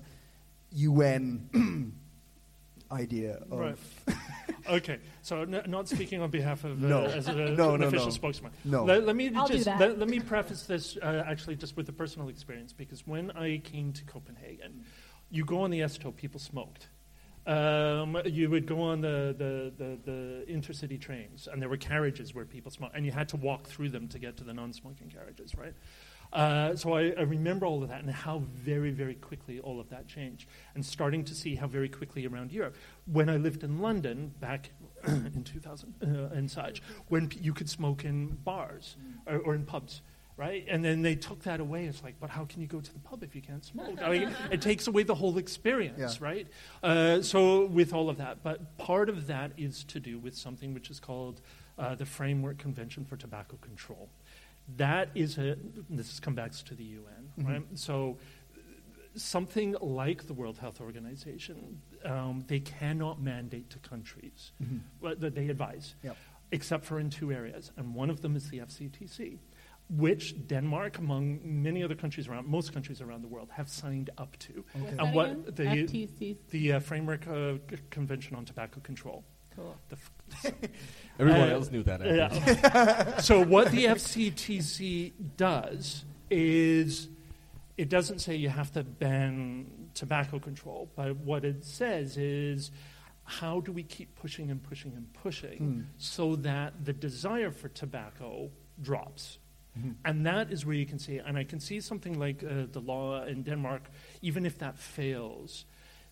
UN idea of... Right. Okay, so not speaking on behalf of as an official spokesman. No. Let me let me preface this actually just with a personal experience, because when I came to Copenhagen, you go on the S-Tog, people smoked. You would go on the intercity trains, and there were carriages where people smoked, and you had to walk through them to get to the non-smoking carriages, right? So I remember all of that and how very, very quickly all of that changed, and starting to see how very quickly around Europe. When I lived in London back in 2000 and such, when you could smoke in bars or in pubs, right? And then they took that away. It's like, but how can you go to the pub if you can't smoke? I mean, it takes away the whole experience, right? So with all of that, but part of that is to do with something which is called the Framework Convention for Tobacco Control. That is this comes back to the UN, right? So something like the World Health Organization, they cannot mandate to countries that they advise, except for in two areas, and one of them is the FCTC, which Denmark, among many other countries around, most countries around the world, have signed up to. Okay. And what the Framework Convention on Tobacco Control. Cool. Everyone else knew that. Yeah. So what the FCTC does is it doesn't say you have to ban tobacco control, but what it says is how do we keep pushing and pushing and pushing so that the desire for tobacco drops. And that is where you can see, and I can see something like the law in Denmark, even if that fails,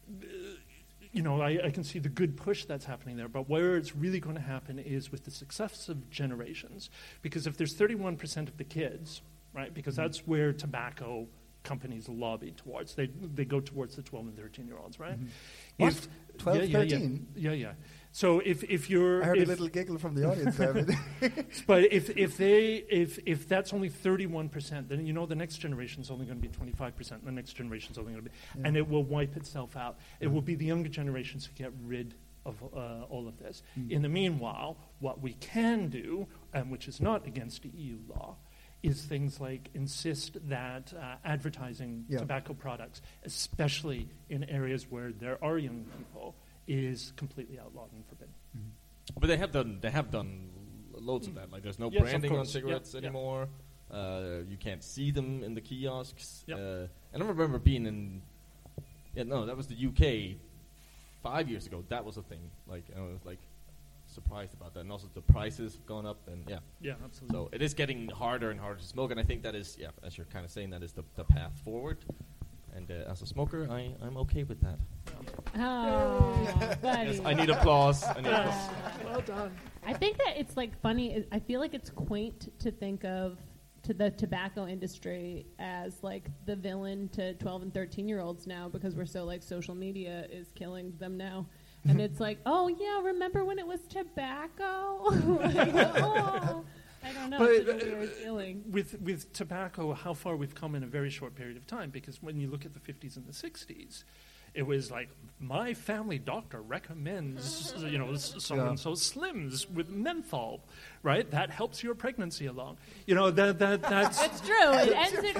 I can see the good push that's happening there, but where it's really going to happen is with the successive generations. Because if there's 31% of the kids, right, because that's where tobacco companies lobby towards. They go towards the 12 and 13-year-olds, right? What? 12, 13? Yeah. So if you're... I heard a little giggle from the audience there. But if that's only 31%, then the next generation is only going to be 25%, and the next generation is only going to be... And it will wipe itself out. It will be the younger generations who get rid of all of this. In the meanwhile, what we can do, and which is not against the EU law, is things like insist that advertising tobacco products, especially in areas where there are young people, is completely outlawed and forbidden. But they have done loads of that. Like there's no branding on cigarettes anymore. You can't see them in the kiosks. And I remember being in that was the UK 5 years ago. That was a thing. Like I was like surprised about that, and also the prices have gone up, and absolutely. So it is getting harder and harder to smoke, and I think that is, as you're kind of saying, that is the path forward. And as a smoker, I'm okay with that. Oh, buddy. Yes, I need applause. Well done. I think that it's like funny. I feel like it's quaint to think of to the tobacco industry as like the villain to 12 and 13-year-olds now, because we're so like social media is killing them now. And it's like, oh, yeah, remember when it was tobacco? I don't know. It's a weird feeling. With tobacco, how far we've come in a very short period of time, because when you look at the 50s and the 60s, it was like, my family doctor recommends, so-and-so Slims with menthol, right? That helps your pregnancy along. That's... It's true. It ended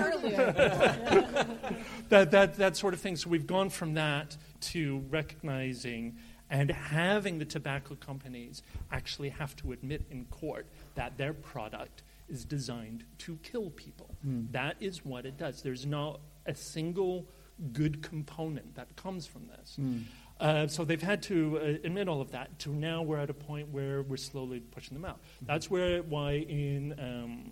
earlier. that sort of thing. So we've gone from that to recognizing and having the tobacco companies actually have to admit in court that their product is designed to kill people. That is what it does. There's not a single good component that comes from this. So they've had to admit all of that. To now we're at a point where we're slowly pushing them out. That's why in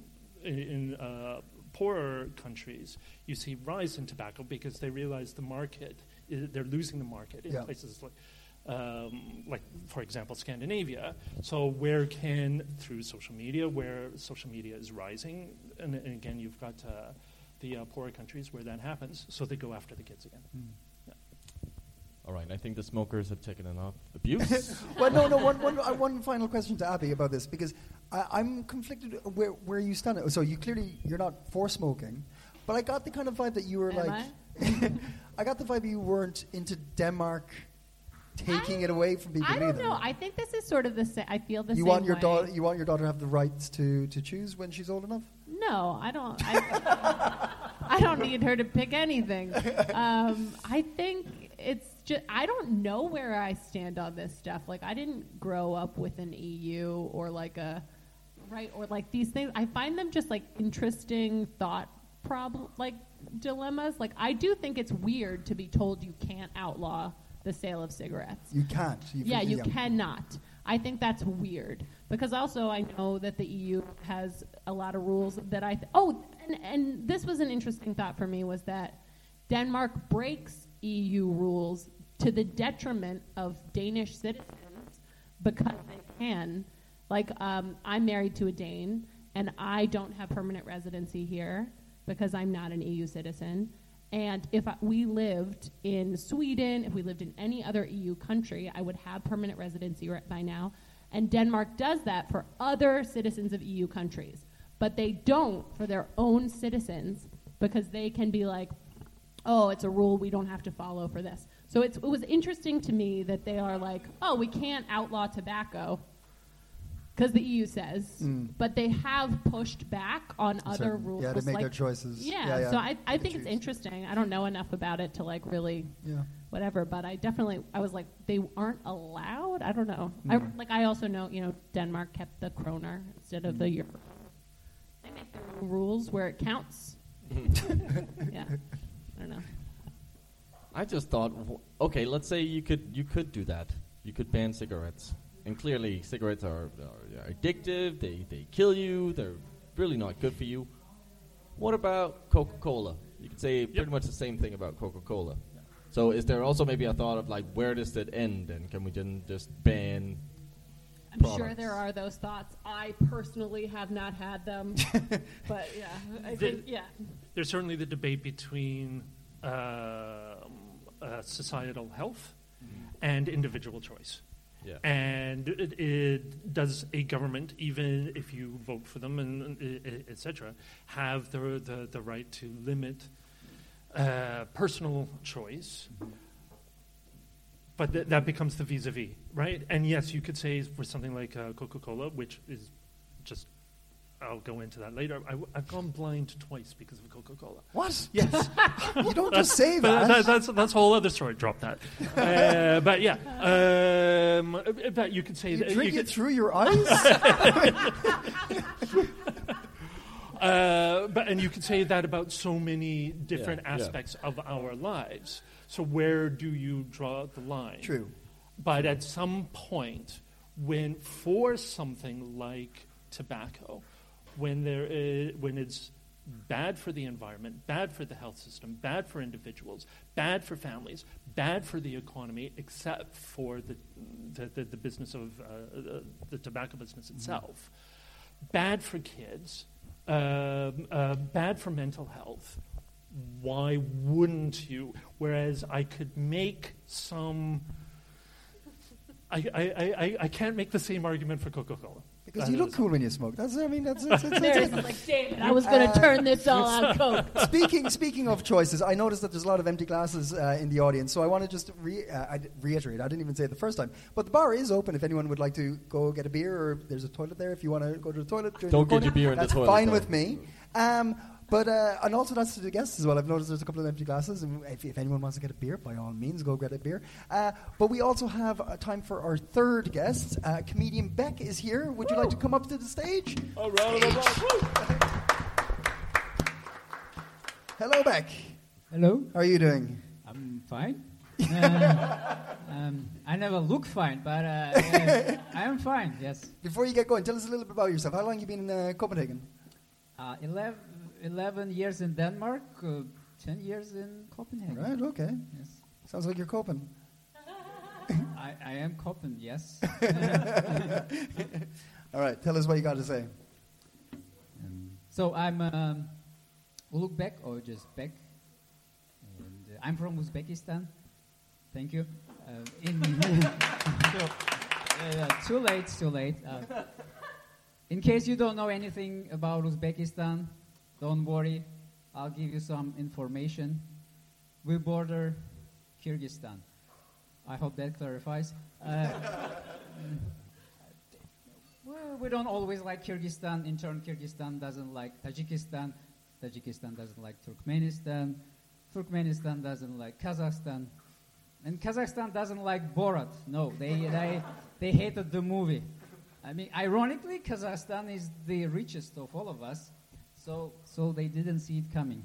poorer countries you see rise in tobacco, because they realize the market they're losing the market in places like, for example, Scandinavia. So through social media, where social media is rising, and again, you've got the poorer countries where that happens, so they go after the kids again. Yeah. All right, I think the smokers have taken enough abuse. Well, no. One final question to Abby about this, because I'm conflicted where you stand. So you're not for smoking, but I got the kind of vibe that you were I got the vibe you weren't into Denmark taking it away from people. I don't know. I think this is sort of the same. I feel the same. You want your daughter to have the rights to choose when she's old enough? No, I don't. I don't need her to pick anything. I think it's just, I don't know where I stand on this stuff. Like, I didn't grow up with an EU or like these things. I find them just like interesting thought dilemmas. Like, I do think it's weird to be told you can't outlaw the sale of cigarettes. You can't. You cannot. I think that's weird, because also I know that the EU has a lot of rules that and this was an interesting thought for me, was that Denmark breaks EU rules to the detriment of Danish citizens because they can. Like, I'm married to a Dane, and I don't have permanent residency here because I'm not an EU citizen. And if we lived in Sweden, if we lived in any other EU country, I would have permanent residency by now. And Denmark does that for other citizens of EU countries. But they don't for their own citizens, because they can be like, oh, it's a rule we don't have to follow for this. So it was interesting to me that they are like, oh, we can't outlaw tobacco because the EU says, but they have pushed back on other rules. Yeah, they make their choices. Yeah. So I think it's interesting. I don't know enough about it to like really whatever, but I was like, they aren't allowed? I don't know. I also know, Denmark kept the kroner instead of the euro. They make their own rules where it counts. Yeah, I don't know. I just thought, okay, let's say you could do that. You could ban cigarettes. And clearly, cigarettes are addictive. They kill you. They're really not good for you. What about Coca-Cola? You could say pretty much the same thing about Coca-Cola. Yeah. So is there also maybe a thought of, like, where does that end? And can we then just ban products? Sure there are those thoughts. I personally have not had them. But, yeah, I think. There's certainly the debate between societal health and individual choice. Yeah. And it does a government, even if you vote for them, and etc., have the right to limit personal choice? But that becomes the vis-a-vis, right? And yes, you could say for something like Coca-Cola, which is just, I'll go into that later. I've gone blind twice because of Coca-Cola. What? Yes. You don't just say that. That's a whole other story. Drop that. But yeah. But you could say you that. Drink it through your eyes? And you could say that about so many different aspects of our lives. So where do you draw the line? True. But at some point, when for something like tobacco, when it's bad for the environment, bad for the health system, bad for individuals, bad for families, bad for the economy, except for the business of the tobacco business itself, bad for kids, bad for mental health. Why wouldn't you? Whereas I could make some. I can't make the same argument for Coca-Cola. Because you look cool when you smoke. That's like, David, I was going to turn this all out Coke. Speaking of choices, I noticed that there's a lot of empty glasses in the audience, so I want to just reiterate. I didn't even say it the first time, but the bar is open if anyone would like to go get a beer, or there's a toilet there if you want to go to the toilet. Don't get your beer in the toilet. That's fine with me. But and also that's to the guests as well. I've noticed there's a couple of empty glasses, and if anyone wants to get a beer, by all means, go get a beer. But we also have time for our third guest. Comedian Beck is here. Would you like to come up to the stage? All right. Hello, Beck. Hello. How are you doing? I'm fine. I never look fine, but I am fine, yes. Before you get going, tell us a little bit about yourself. How long have you been in Copenhagen? 11 years in Denmark, 10 years in Copenhagen. Right, okay. Yes. Sounds like you're coping. I am coping, yes. All right, tell us what you got to say. So I'm Ulugh or just Bek. And I'm from Uzbekistan. Thank you. Too late. In case you don't know anything about Uzbekistan, don't worry. I'll give you some information. We border Kyrgyzstan. I hope that clarifies. We don't always like Kyrgyzstan. In turn, Kyrgyzstan doesn't like Tajikistan. Tajikistan doesn't like Turkmenistan. Turkmenistan doesn't like Kazakhstan. And Kazakhstan doesn't like Borat. No, they hated the movie. I mean, ironically, Kazakhstan is the richest of all of us, so they didn't see it coming.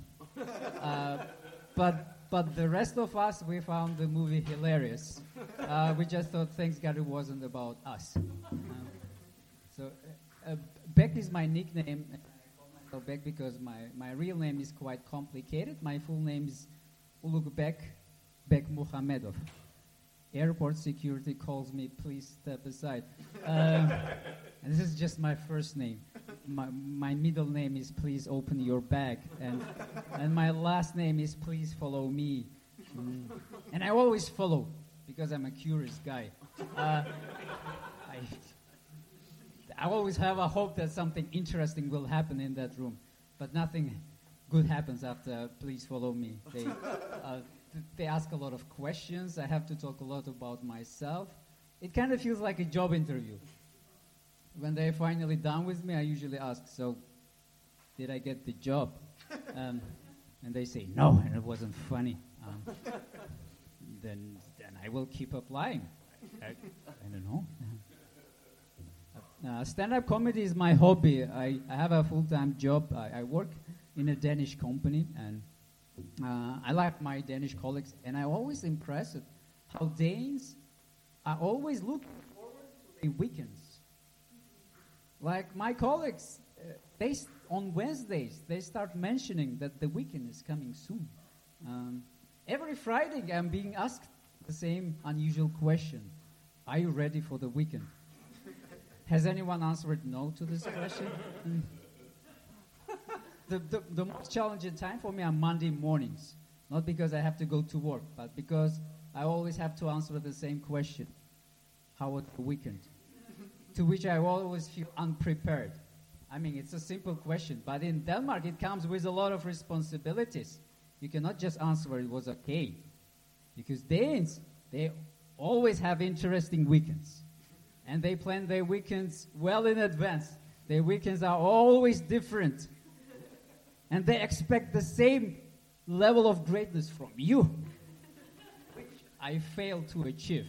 But the rest of us, we found the movie hilarious. We just thought, thanks God it wasn't about us. Bek is my nickname. I call myself Bek because my real name is quite complicated. My full name is Ulugh Bek Muhamedov. Airport security calls me, please step aside. And this is just my first name. My middle name is please open your bag. And my last name is please follow me. And I always follow because I'm a curious guy. I always have a hope that something interesting will happen in that room. But nothing good happens after please follow me. They ask a lot of questions. I have to talk a lot about myself. It kind of feels like a job interview. When they're finally done with me, I usually ask, so did I get the job? And they say, no, and it wasn't funny. Then I will keep applying. I don't know. Stand-up comedy is my hobby. I have a full-time job. I work in a Danish company, and I like my Danish colleagues, and I'm always impressed at how Danes are always looking forward to the weekends. Like my colleagues, on Wednesdays, they start mentioning that the weekend is coming soon. Every Friday, I'm being asked the same unusual question. Are you ready for the weekend? Has anyone answered no to this question? The most challenging time for me are Monday mornings. Not because I have to go to work, but because I always have to answer the same question. How was the weekend? To which I always feel unprepared. I mean, it's a simple question, but in Denmark it comes with a lot of responsibilities. You cannot just answer it was okay. Because Danes, they always have interesting weekends. And they plan their weekends well in advance. Their weekends are always different. And they expect the same level of greatness from you, which I failed to achieve.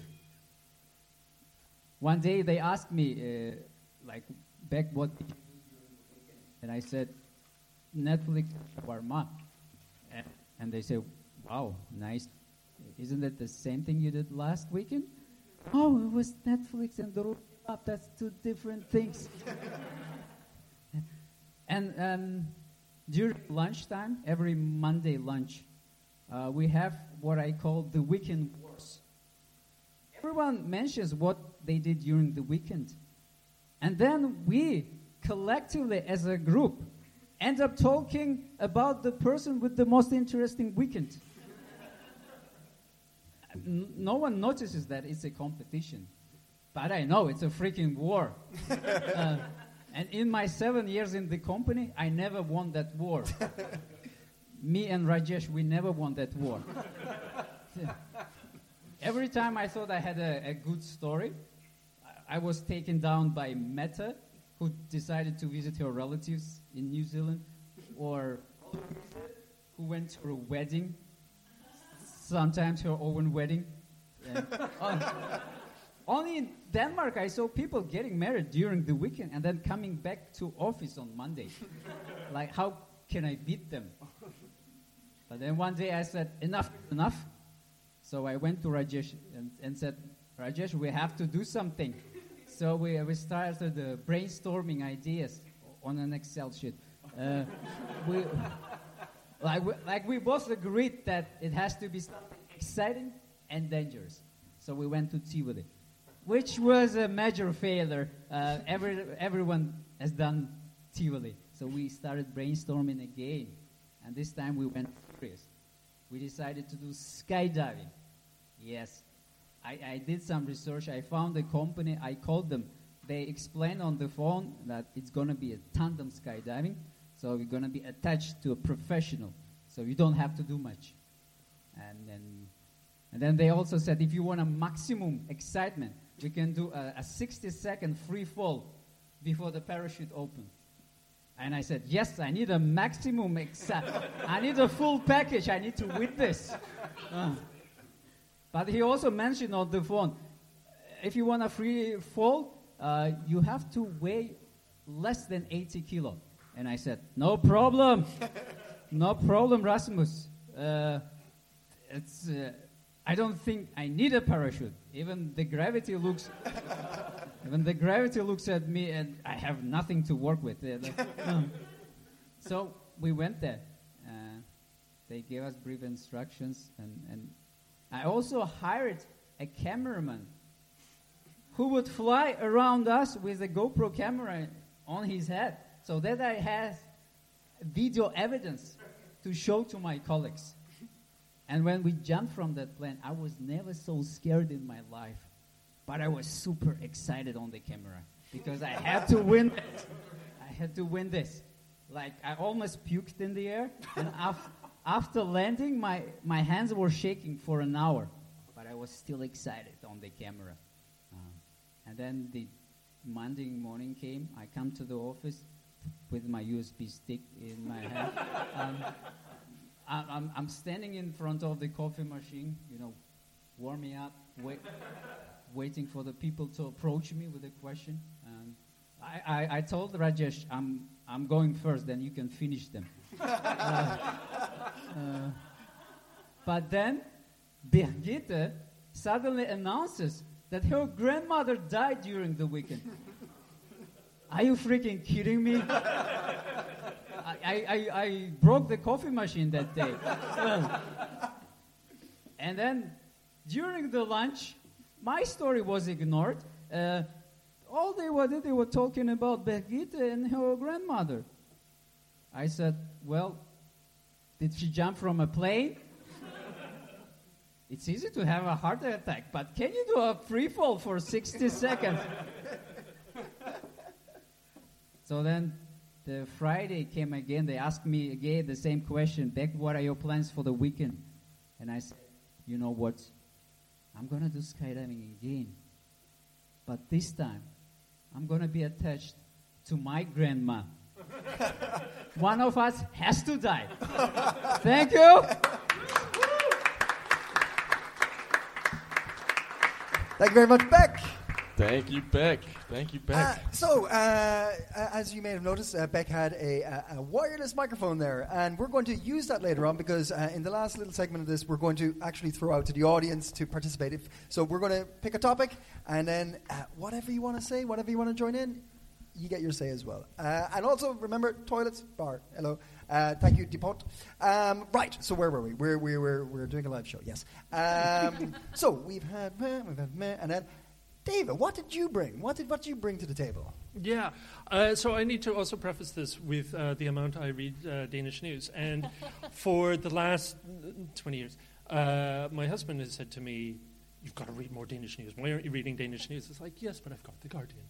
One day they asked me, Bek, what did you do during the weekend? And I said, Netflix shawarma. And they said, wow, nice. Isn't that the same thing you did last weekend? Oh, it was Netflix and the Rooftop. That's two different things. And during lunchtime, every Monday lunch, we have what I call the weekend wars. Everyone mentions what they did during the weekend. And then we, collectively as a group, end up talking about the person with the most interesting weekend. No one notices that it's a competition. But I know it's a freaking war. And in my 7 years in the company, I never won that war. Me and Rajesh, we never won that war. Every time I thought I had a good story, I was taken down by Meta, who decided to visit her relatives in New Zealand, or who went to a wedding, sometimes her own wedding. Only in Denmark I saw people getting married during the weekend and then coming back to office on Monday. Like, how can I beat them? But then one day I said, enough. So I went to Rajesh and said, Rajesh, we have to do something. So we started brainstorming ideas on an Excel sheet. We both agreed that it has to be something exciting and dangerous. So we went to Tivoli, which was a major failure. Everyone has done Tivoli. So we started brainstorming again, and this time we went serious. We decided to do skydiving. Yes, I did some research. I found a company. I called them. They explained on the phone that it's going to be a tandem skydiving, so we're going to be attached to a professional, so you don't have to do much. And then they also said if you want a maximum excitement, we can do a 60-second free fall before the parachute opens. And I said, yes, I need a maximum I need a full package. I need to win this. But he also mentioned on the phone, if you want a free fall, you have to weigh less than 80 kilo. And I said, no problem. No problem, Rasmus. I don't think I need a parachute. Even the gravity looks at me, and I have nothing to work with. So we went there. They gave us brief instructions, and I also hired a cameraman who would fly around us with a GoPro camera on his head, so that I had video evidence to show to my colleagues. And when we jumped from that plane, I was never so scared in my life. But I was super excited on the camera because I had to win it. I had to win this. Like, I almost puked in the air. And after landing, my hands were shaking for an hour. But I was still excited on the camera. And then the Monday morning came. I come to the office with my USB stick in my hand. I'm standing in front of the coffee machine, warming up, waiting for the people to approach me with a question. I told Rajesh, I'm going first, then you can finish them. But then Birgitte suddenly announces that her grandmother died during the weekend. Are you freaking kidding me? I broke the coffee machine that day. And then during the lunch, my story was ignored. All they were talking about Birgitte and her grandmother. I said, well, did she jump from a plane? It's easy to have a heart attack, but can you do a free fall for 60 seconds? So then the Friday came again. They asked me again the same question. Beck, what are your plans for the weekend? And I said, you know what? I'm going to do skydiving again. But this time, I'm going to be attached to my grandma. One of us has to die. Thank you. Thank you very much, Beck. Thank you, Beck. Thank you, Beck. As you may have noticed, Beck had a wireless microphone there, and we're going to use that later on because in the last little segment of this, we're going to actually throw out to the audience to participate. So we're going to pick a topic, and then whatever you want to say, whatever you want to join in, you get your say as well. And also, remember, toilets, bar. Hello. Thank you, Depot. Right, so where were we? We're doing a live show, yes. So we've had and then David, what did you bring? What did you bring to the table? Yeah, so I need to also preface this with the amount I read Danish news. And for the last 20 years, my husband has said to me, you've got to read more Danish news. Why aren't you reading Danish news? It's like, yes, but I've got The Guardian.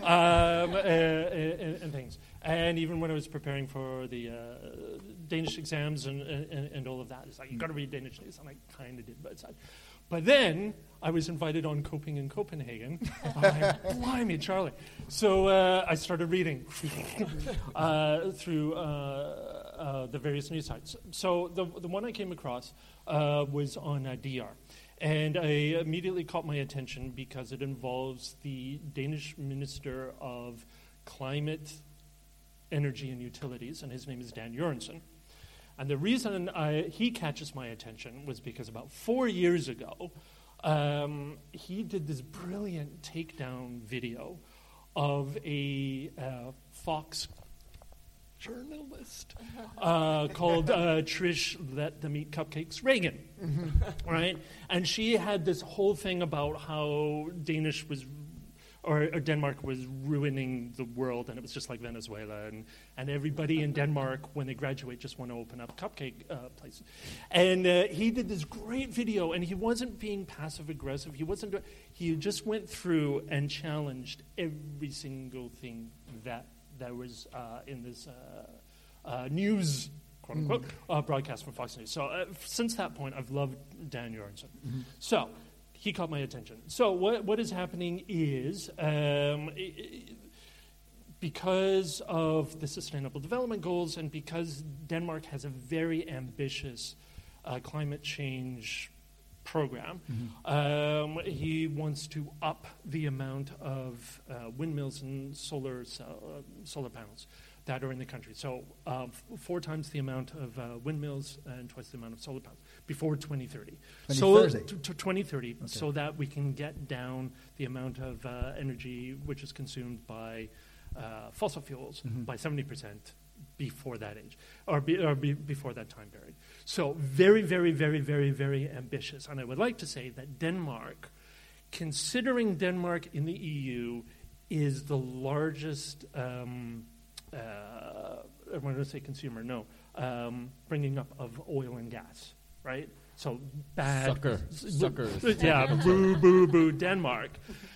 And things. And even when I was preparing for the Danish exams and all of that, it's like, you've got to read Danish news. And I kind of did, but then I was invited on Coping in Copenhagen. Blimey, Charlie. So I started reading through the various news sites. So the one I came across was on DR. And I immediately caught my attention because it involves the Danish Minister of Climate, Energy and Utilities, and his name is Dan Jørgensen. And the reason he catches my attention was because about 4 years ago, he did this brilliant takedown video of a fox journalist called Trish Let Them Eat Cupcakes Reagan, right? And she had this whole thing about how Denmark was ruining the world, and it was just like Venezuela, and everybody in Denmark, when they graduate, just want to open up cupcake places. And he did this great video, and he wasn't being passive-aggressive. He just went through and challenged every single thing that was in this news, quote-unquote, broadcast from Fox News. So since that point, I've loved Dan Jørgensen. So he caught my attention. So what is happening is, because of the Sustainable Development Goals and because Denmark has a very ambitious climate change program, he wants to up the amount of windmills and solar panels that are in the country. So 4 times the amount of windmills and twice the amount of solar panels before 2030. 2030, okay. So that we can get down the amount of energy which is consumed by fossil fuels by 70% before that age, or before that time period. So very, very, very, very, very ambitious. And I would like to say that Denmark, considering Denmark in the EU, is the largest, I'm going to say consumer, bringing up of oil and gas, right? So bad. Suckers. Yeah, boo, boo, boo, Denmark.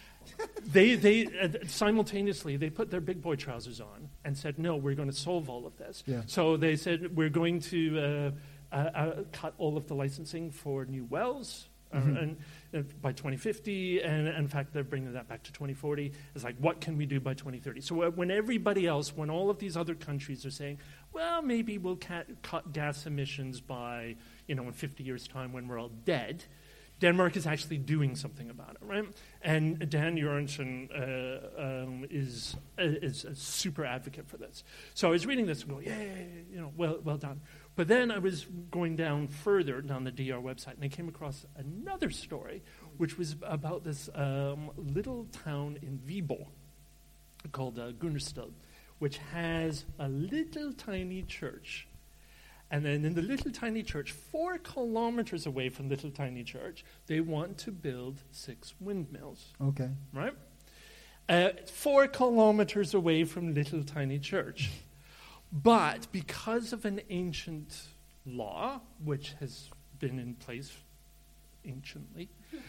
They simultaneously, they put their big boy trousers on and said, no, we're going to solve all of this. Yeah. So they said, we're going to cut all of the licensing for new wells and by 2050, and in fact, they're bringing that back to 2040. It's like, what can we do by 2030? So when everybody else, when all of these other countries are saying, well, maybe we'll cut gas emissions by, in 50 years' time when we're all dead, Denmark is actually doing something about it, right? And Dan Jørgensen is a super advocate for this. So I was reading this and going, well done. But then I was going down further down the DR website, and I came across another story, which was about this little town in Viborg called Gundersted, which has a little tiny church. And then in the little tiny church, 4 kilometers away from little tiny church, they want to build 6 windmills. Okay. Right? 4 kilometers away from little tiny church. But because of an ancient law, which has been in place anciently,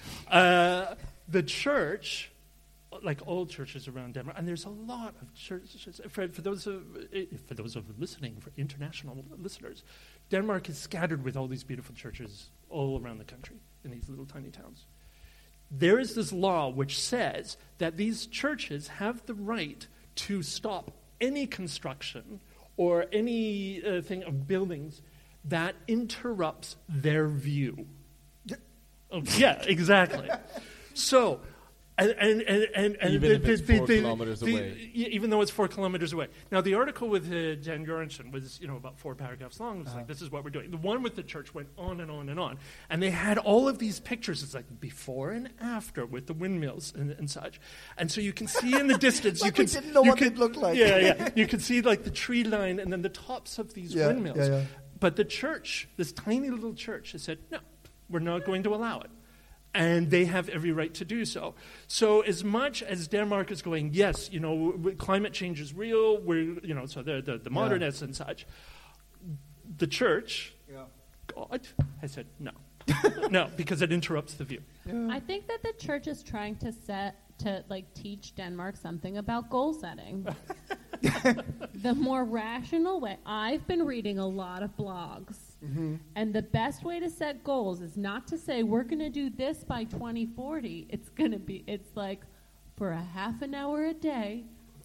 the church, like all churches around Denmark, and there's a lot of churches. For those of listening, for international listeners, Denmark is scattered with all these beautiful churches all around the country in these little tiny towns. There is this law which says that these churches have the right to stop any construction or any thing of buildings that interrupts their view. Oh, yeah, exactly. So. And even if it's 4 kilometers away. Even though it's 4 kilometers away. Now, the article with Dan Jørgensen was, about 4 paragraphs long. It was like, this is what we're doing. The one with the church went on and on and on. And they had all of these pictures. It's like before and after with the windmills and such. And so you can see in the distance. We didn't know what it looked like. Yeah. You can see like the tree line and then the tops of these windmills. Yeah. But the church, this tiny little church, has said, no, we're not going to allow it. And they have every right to do so. So as much as Denmark is going, yes, climate change is real, so they're the modernists and such, the church, God, has said no. No, because it interrupts the view. Yeah. I think that the church is trying to teach Denmark something about goal setting. The more rational way. I've been reading a lot of blogs. And the best way to set goals is not to say we're going to do this by 2040. It's like for a half an hour a day,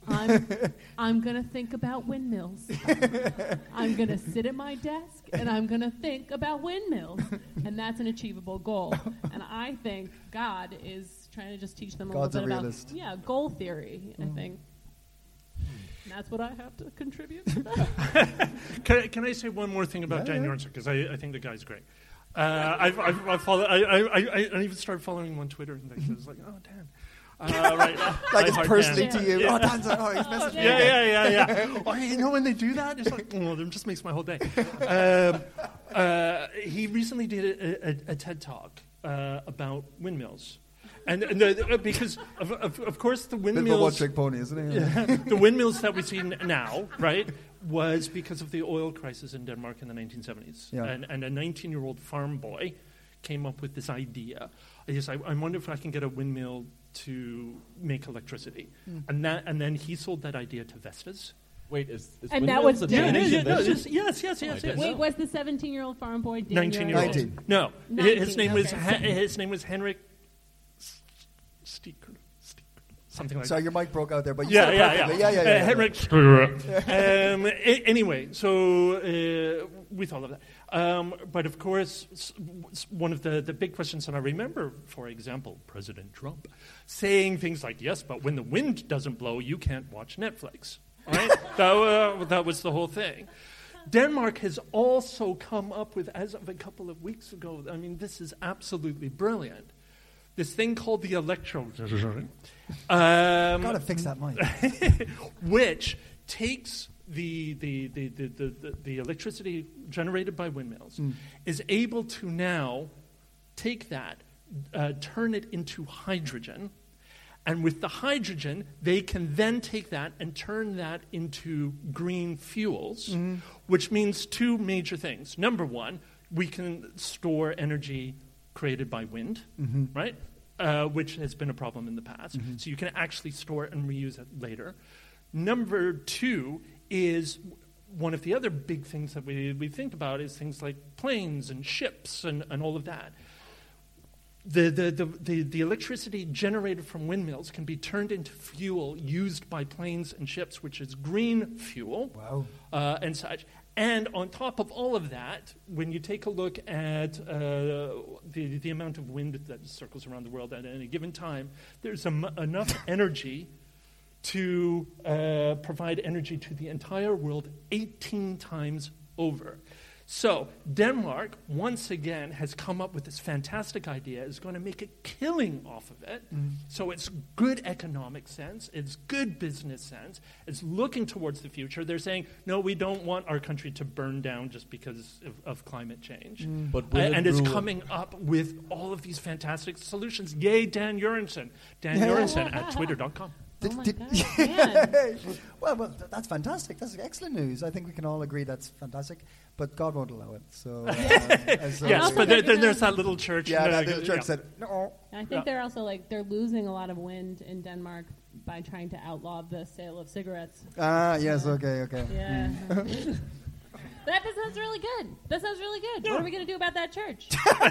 I'm going to think about windmills. I'm going to sit at my desk and I'm going to think about windmills. And that's an achievable goal. And I think God is trying to just teach them a God's little bit realist. about goal theory, I think. And that's what I have to contribute to that. Can I say one more thing about Dan Jørgensen? Because I think the guy's great. I even started following him on Twitter and things. I was like, oh, Dan. Right, like it's hard personally Dan. to you. Yeah. Oh, Dan's he's messaging me. Yeah. Oh, you know when they do that, it's like, oh, it just makes my whole day. He recently did a TED Talk about windmills. And because, of course, the windmills... Bit of a one-trick pony, isn't it? The windmills that we see now, right, was because of the oil crisis in Denmark in the 1970s. Yeah. And a 19-year-old farm boy came up with this idea. I wonder if I can get a windmill to make electricity. And then he sold that idea to Vestas. Wait, is And that was Danish? Yes. Wait, was the 17-year-old farm boy Danish? 19-year-old. 19. No, 19, his name was Henrik Steeker. Something like that. Sorry, your mic broke out there, but you said it perfectly. Yeah. Henrik anyway, so with all of that. But of course, one of the big questions that I remember, for example, President Trump saying things like, yes, but when the wind doesn't blow, you can't watch Netflix. Right? That was the whole thing. Denmark has also come up with, as of a couple of weeks ago, I mean, this is absolutely brilliant, this thing called the electro... Gotta fix that mic. which takes the electricity generated by windmills, is able to now take that, turn it into hydrogen, and with the hydrogen, they can then take that and turn that into green fuels, which means two major things. Number one, we can store energy created by wind, right? Which has been a problem in the past. So you can actually store it and reuse it later. Number two is one of the other big things that we think about is things like planes and ships and all of that. The electricity generated from windmills can be turned into fuel used by planes and ships, which is green fuel. Wow. And such. And on top of all of that, when you take a look at the amount of wind that circles around the world at any given time, there's enough energy to provide energy to the entire world 18 times over. So Denmark, once again, has come up with this fantastic idea, is going to make a killing off of it. So it's good economic sense, it's good business sense, it's looking towards the future. They're saying, no, we don't want our country to burn down just because of climate change. And it's coming up with all of these fantastic solutions. Yay, Dan Urensen. Dan Urensen at twitter.com. Well, that's fantastic. That's excellent news. I think we can all agree that's fantastic. But God won't allow it. So yes, but there's that little church. Yeah, that little church said no. I think they're also they're losing a lot of wind in Denmark by trying to outlaw the sale of cigarettes. Yes. Okay. Yeah. That sounds really good. Yeah. What are we going to do about that church?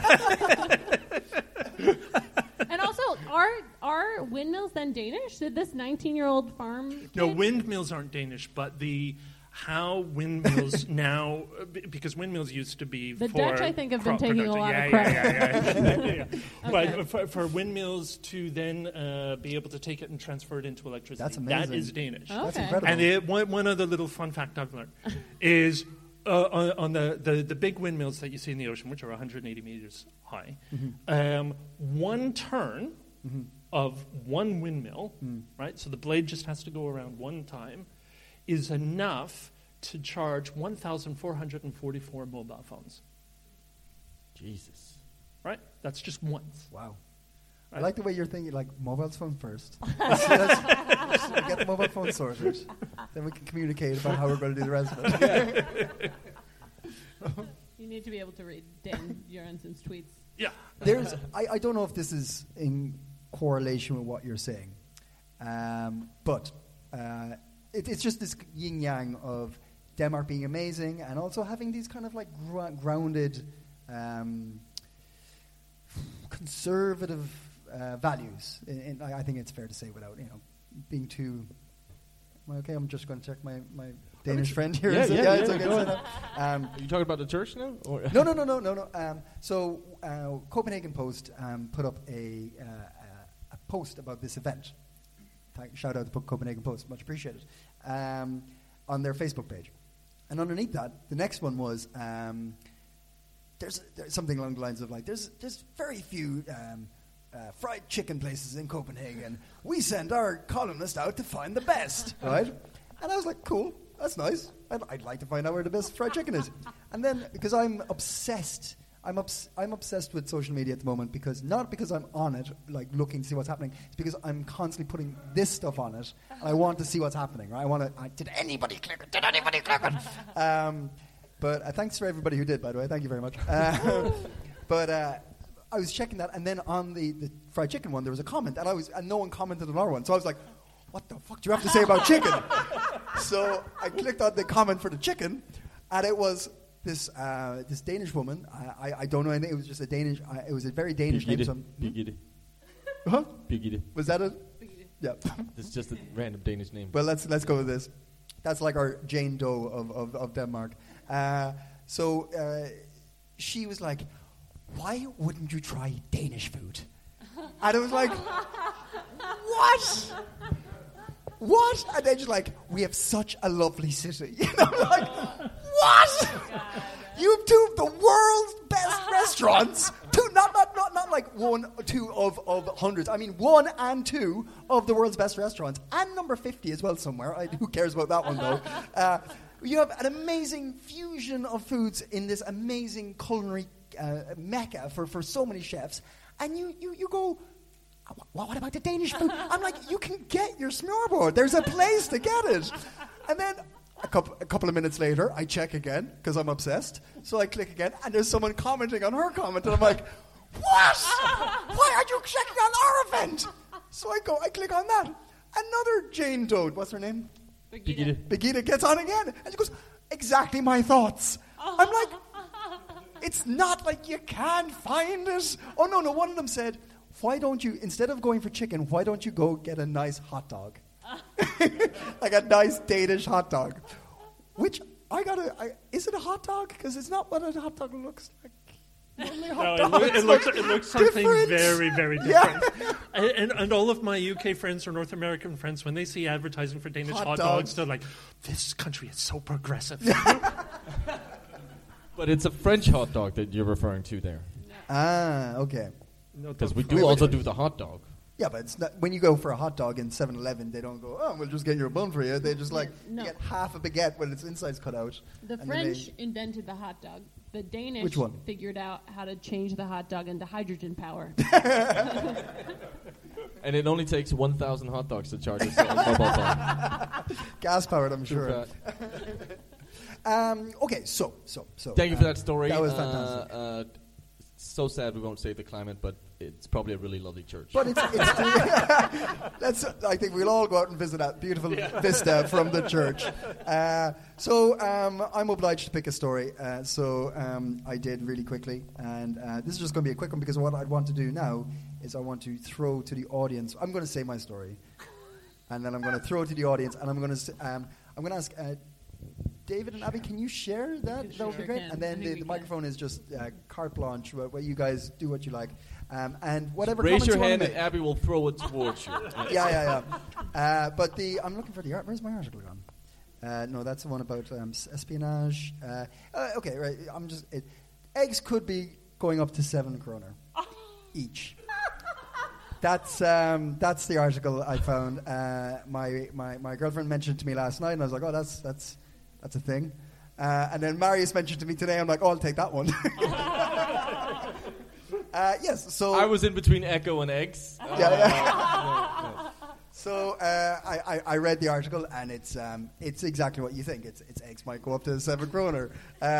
And also, are windmills then Danish? Did this 19-year-old farm kid? No, windmills aren't Danish, but how windmills now, because windmills used to be the for Dutch, I think, have been taking a lot of credit. Okay. But for windmills to then be able to take it and transfer it into electricity, that's amazing. That is Danish. Okay. That's incredible. And one other little fun fact I've learned is on the big windmills that you see in the ocean, which are 180 meters high, one turn of one windmill, right? So the blade just has to go around one time, is enough to charge 1,444 mobile phones. Jesus. Right? That's just once. Wow. Right? I like the way you're thinking, like, mobile phone first. Let's get the mobile phone sorted. Then we can communicate about how we're going to do the rest of it. You need to be able to read Dan Urensen's tweets. Yeah. I don't know if this is in correlation with what you're saying, but it's just this yin-yang of Denmark being amazing and also having these kind of like grounded, conservative values. I think it's fair to say without being too... Okay, I'm just going to check my Danish friend here. Yeah, it's okay. Are you talking about the church now? Or No. So Copenhagen Post put up a post about this event. Shout out to Copenhagen Post, much appreciated, on their Facebook page. And underneath that, the next one was there's something along the lines of like there's very few fried chicken places in Copenhagen. We send our columnist out to find the best, right? And I was like, cool, that's nice. I'd like to find out where the best fried chicken is. And then, because I'm obsessed, I'm obsessed with social media at the moment, not because I'm on it, like looking to see what's happening. It's because I'm constantly putting this stuff on it, and I want to see what's happening, right? Did anybody click it? Did anybody click it? But thanks for everybody who did, by the way. Thank you very much. But I was checking that, and then on the fried chicken one, there was a comment, and no one commented on our one. So I was like, what the fuck do you have to say about chicken? So I clicked on the comment for the chicken, and it was this Danish woman. I don't know anything. It was just a Danish. It was a very Danish name. Birgitte. Huh? Birgitte. Was that it? Birgitte. Yeah. It's just a random Danish name. Well, let's go with this. That's like our Jane Doe of Denmark. So she was like, "Why wouldn't you try Danish food?" And it was like, what? What? And then she's like, "We have such a lovely city." And I'm like, what? You have two of the world's best restaurants. Two, not like 1 or 2 of hundreds. I mean 1 and 2 of the world's best restaurants. And number 50 as well somewhere. Who cares about that one though? You have an amazing fusion of foods in this amazing culinary mecca for so many chefs. And you go, what about the Danish food? I'm like, you can get your smørrebrød. There's a place to get it. And then a couple of minutes later, I check again, because I'm obsessed. So I click again, and there's someone commenting on her comment, and I'm like, what? Why are you checking on our event? So I click on that. Another Jane Doe, what's her name? Birgitte gets on again, and she goes, exactly my thoughts. I'm like, it's not like you can't find it. Oh, no, one of them said, why don't you, instead of going for chicken, why don't you go get a nice hot dog? Like a nice Danish hot dog. Which, is it a hot dog? Because it's not what a hot dog looks like. It looks something very, very different. Yeah. And all of my UK friends or North American friends, when they see advertising for Danish hot dogs, they're like, this country is so progressive. But it's a French hot dog that you're referring to there. Ah, okay. Because we do also do the hot dog. Yeah, but it's not, when you go for a hot dog in 7-Eleven, they don't go, oh, we'll just get your bun for you. They just get half a baguette when its inside's cut out. The French invented the hot dog. The Danish figured out how to change the hot dog into hydrogen power. And it only takes 1,000 hot dogs to charge a mobile phone. Gas powered, I'm sure. Okay, so. Thank you for that story. That was fantastic. So sad we won't save the climate, but it's probably a really lovely church. But I think we'll all go out and visit that beautiful vista from the church. So I'm obliged to pick a story. So I did really quickly. And this is just going to be a quick one, because what I'd want to do now is I want to throw to the audience. I'm going to say my story. And then I'm going to throw it to the audience. And I'm going to ask... David and Abby, can you share that? That would be great. And then the microphone is just carte blanche, where you guys do what you like. And whatever. Raise your hand and Abby will throw it towards you. Yeah. But I'm looking for the art. Where's my article gone? No, that's the one about espionage. Okay, right. Eggs could be going up to 7 kroner each. That's the article I found. My girlfriend mentioned to me last night, and I was like, oh, that's a thing. And then Marius mentioned to me today. I'm like, oh, I'll take that one. Yes. So I was in between Echo and eggs. No. So I read the article, and it's exactly what you think. It's eggs might go up to 7 kroner.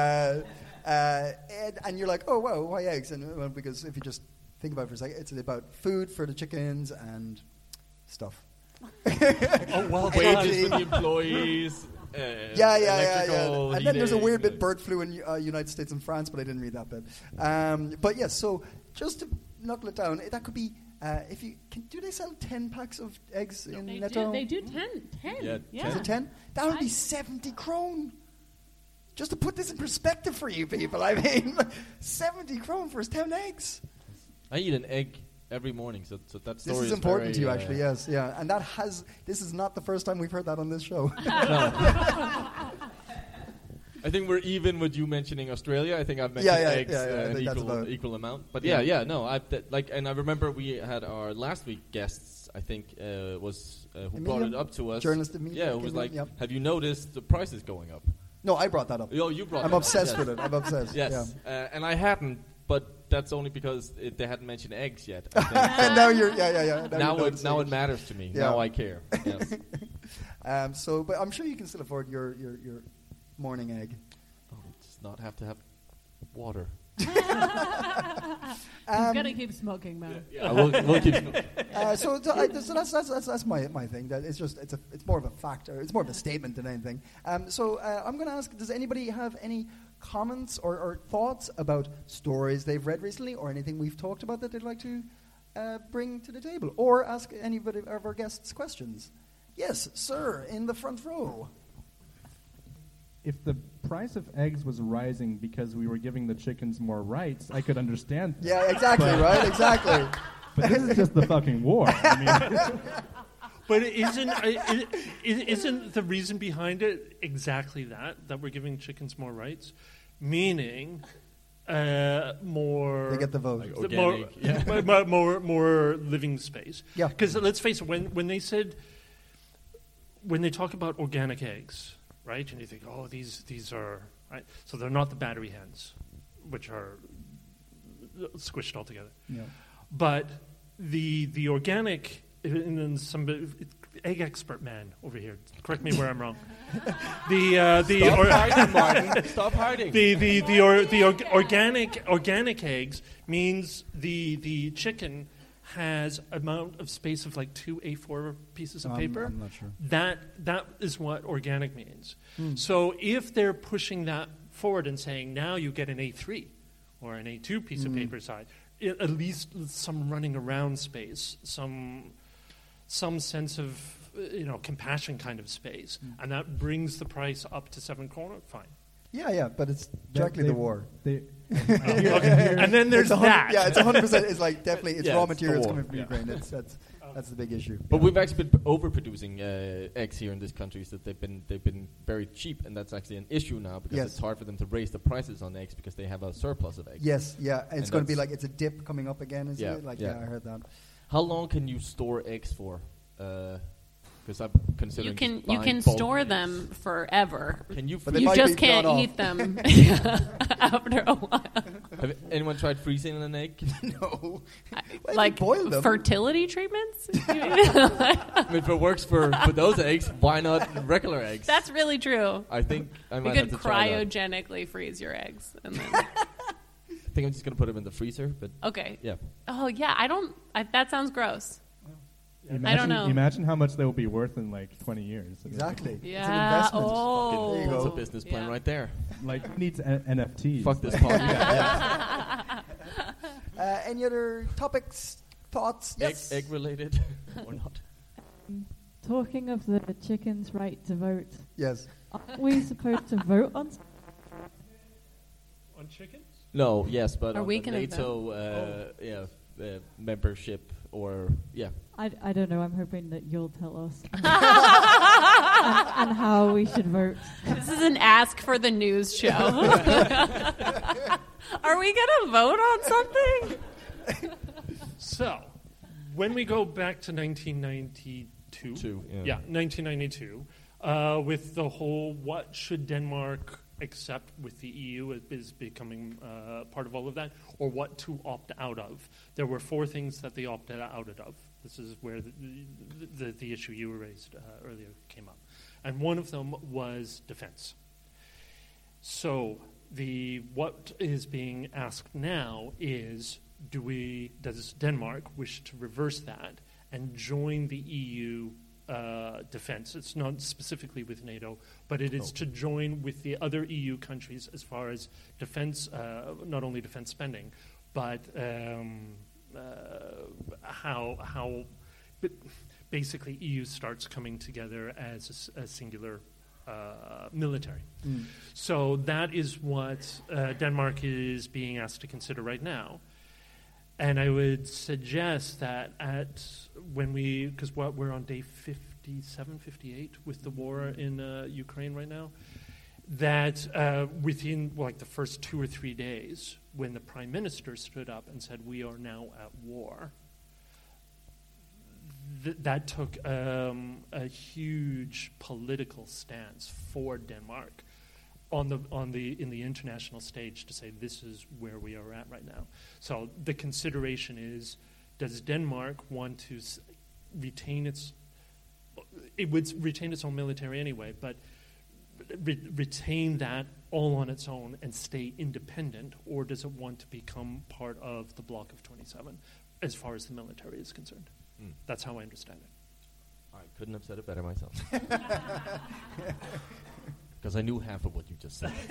And you're like, oh wow, why eggs? And because if you just think about it for a second, it's about food for the chickens and stuff. Wages for the employees. Yeah. And then there's a weird bit bird flu in United States and France, but I didn't read that bit. But yes, so just to knuckle it down, that could be if you do they sell 10 packs of eggs in Netto? They do 10. Yeah. Is it 10? That would be 70 krone. Just to put this in perspective for you people, I mean, 70 krone for 10 eggs. I eat an egg every morning, so that story is is important very, to you, actually, yes, yeah. And this is not the first time we've heard that on this show. I think we're even with you mentioning Australia. I think I've mentioned eggs an equal amount. But no. And I remember we had our last week guests. I think was who brought it up to us. Journalist Emilia. Yeah, who was like, "Have you noticed the prices going up?" No, I brought that up. Oh, you brought. I'm obsessed with it. I'm obsessed. Yes, and I hadn't. But that's only because they hadn't mentioned eggs yet. And now you're, Now it matters to me. Yeah. Now I care. Yes. But I'm sure you can still afford your morning egg. Oh, just not have to have water. You've got to keep smoking, man. Yeah, we'll keep smoking. So that's my thing. That it's more of a factor. It's more of a statement than anything. I'm going to ask: does anybody have any comments or thoughts about stories they've read recently, or anything we've talked about that they'd like to bring to the table, or ask anybody of our guests questions? Yes, sir, in the front row. If the price of eggs was rising because we were giving the chickens more rights, I could understand that. Yeah, exactly, right? Exactly. But this is just the fucking war. I mean, but isn't the reason behind it exactly that we're giving chickens more rights? Meaning more... They get the vote. Like organic, more living space. Yeah. Because let's face it, when they talk about organic eggs... Right, and you think, oh, these are right. So they're not the battery hens, which are squished all together. Yeah. But the organic, and then some egg expert man over here. Correct me where I'm wrong. Stop hiding. The organic eggs means the chicken has amount of space of like 2 A4 pieces of paper. I'm not sure. That is what organic means. So if they're pushing that forward and saying now you get an A3 or an A2 piece of paper side, at least some running around space, some sense of compassion kind of space, and that brings the price up to 7 krona. Fine. Yeah, but it's directly the war. And then there's that. Yeah, it's 100%. It's like definitely it's raw materials coming from Ukraine. That's the big issue. But we've actually been overproducing eggs here in this country, so they've been very cheap, and that's actually an issue now because it's hard for them to raise the prices on eggs because they have a surplus of eggs. Yes, yeah, and it's going to be like it's a dip coming up again, isn't it? Like I heard that. How long can you store eggs for? Because I'm considering you can store them forever. Can you? You just can't eat them after a while. Have anyone tried freezing an egg? No. Like fertility treatments? I mean, if it works for those eggs, why not regular eggs? That's really true. I think I might you have could to try that. cryogenically freeze your eggs, and then. I think I'm just gonna put them in the freezer. But okay. Yeah. Oh yeah, that sounds gross. I don't know. Imagine how much they will be worth in like 20 years. Exactly. Yeah. It's an investment. Oh. There you go. It's a business plan right there. Like, it needs NFTs. Fuck this podcast. Any other topics, thoughts? Yes. Egg related or not? Talking of the chicken's right to vote. Yes. Aren't we supposed to vote on chickens? No, yes, but are on we the NATO membership or I don't know. I'm hoping that you'll tell us and how we should vote. This is an ask for the news show. Are we going to vote on something? So, when we go back to 1992, 1992, with the whole what should Denmark accept with the EU is becoming part of all of that, or what to opt out of. There were 4 things that they opted out of. This is where the issue you raised earlier came up. And one of them was defense. So what is being asked now is, does Denmark wish to reverse that and join the EU defense? It's not specifically with NATO, but it is to join with the other EU countries as far as defense, not only defense spending, but how basically EU starts coming together as a singular military. So that is what Denmark is being asked to consider right now. And I would suggest that because we're on day 57, 58 with the war in Ukraine right now, that within the first 2 or 3 days, when the Prime Minister stood up and said, we are now at war, that took a huge political stance for Denmark in the international stage to say this is where we are at right now. So the consideration is, does Denmark want to retain its? It would retain its own military anyway, but retain that all on its own and stay independent, or does it want to become part of the bloc of 27 as far as the military is concerned? That's how I understand it. I couldn't have said it better myself. Because I knew half of what you just said.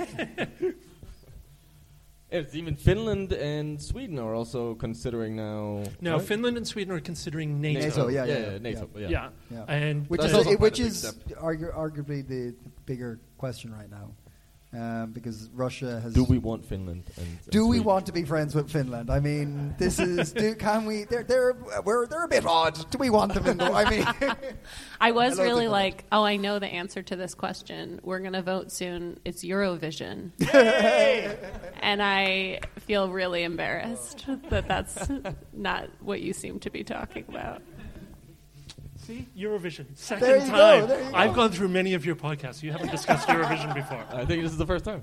It's even Finland and Sweden are also considering now. No, right? Finland and Sweden are considering NATO. NATO. Yeah. And which is arguably the bigger question right now. Because Russia has. Do we want Finland? Do we want to be friends with Finland? I mean, this is. Can we? They're a bit odd. Do we want them? I was really like, I know the answer to this question. We're gonna vote soon. It's Eurovision, and I feel really embarrassed that that's not what you seem to be talking about. See, Eurovision, second time. I've gone through many of your podcasts. You haven't discussed Eurovision before. I think this is the first time.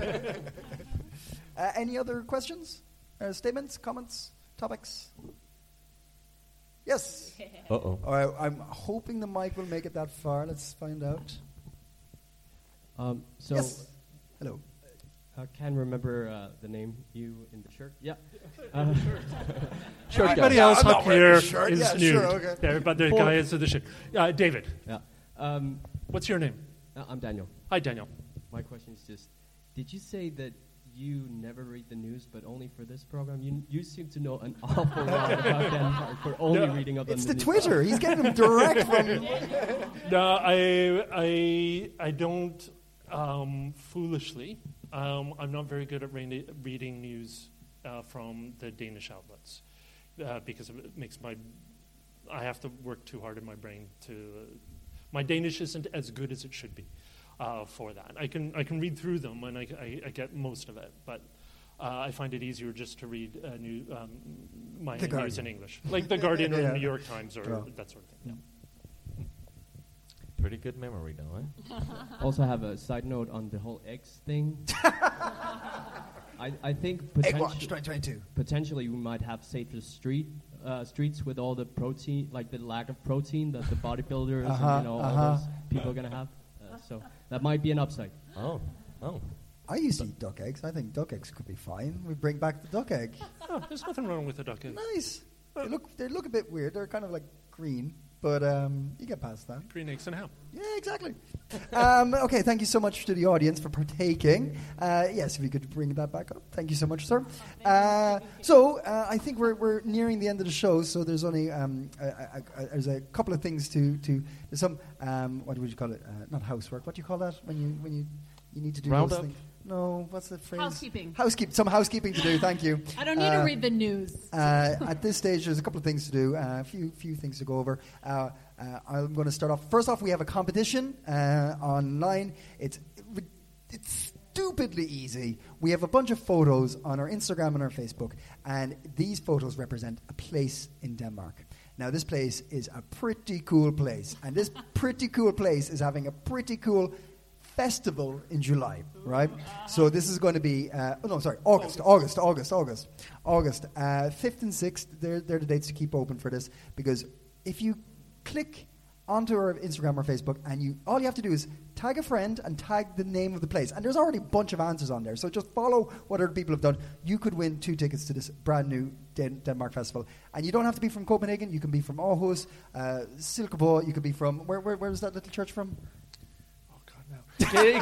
Any other questions, statements, comments, topics? Yes. Uh-oh. All right, I'm hoping the mic will make it that far. Let's find out. Yes. Hello. I can't remember the name. You in the shirt? Yeah. Everybody else up here is nude. Sure, okay. But the guy is in the shirt. David. Yeah. What's your name? I'm Daniel. Hi, Daniel. My question is just, did you say that you never read the news, but only for this program? You seem to know an awful lot about Denmark for only reading up on the news. It's the Twitter. He's getting them direct from... No, I don't foolishly... I'm not very good at reading news from the Danish outlets because it makes I have to work too hard in my brain to. My Danish isn't as good as it should be for that. I can read through them and I get most of it, but I find it easier just to read my news in English, like The Guardian or the New York Times or that sort of thing. Yeah. Pretty good memory, though, eh? Also have a side note on the whole eggs thing. I think Egg Watch 2022. Potentially we might have safer streets with all the protein, like the lack of protein that the bodybuilders and all those people are going to have. So that might be an upside. Oh. I used to eat duck eggs. I think duck eggs could be fine. We bring back the duck egg. Oh, there's nothing wrong with the duck egg. Nice. They look a bit weird. They're kind of like green. But you get past that. Green eggs and ham. Yeah, exactly. Okay, thank you so much to the audience for partaking. Yes, if you could bring that back up. Thank you so much, sir. So I think we're nearing the end of the show, so there's only there's a couple of things to there's some, what would you call it? Not housework. What do you call that when you need to do Round those up? things? No, what's the phrase? Housekeeping. Some housekeeping to do, thank you. I don't need to read the news. At this stage, there's a couple of things to do, a few things to go over. I'm going to start off. First off, we have a competition online. It's stupidly easy. We have a bunch of photos on our Instagram and our Facebook, and these photos represent a place in Denmark. Now, this place is a pretty cool place, and this pretty cool place is having a pretty cool festival in July, right? So this is going to be, August. 5th and 6th, they're the dates to keep open for this, because if you click onto our Instagram or Facebook, and all you have to do is tag a friend and tag the name of the place, and there's already a bunch of answers on there, so just follow what other people have done. You could win 2 tickets to this brand new Denmark Festival, and you don't have to be from Copenhagen. You can be from Aarhus, Silkeborg. You could be from, where was that little church from? I'll look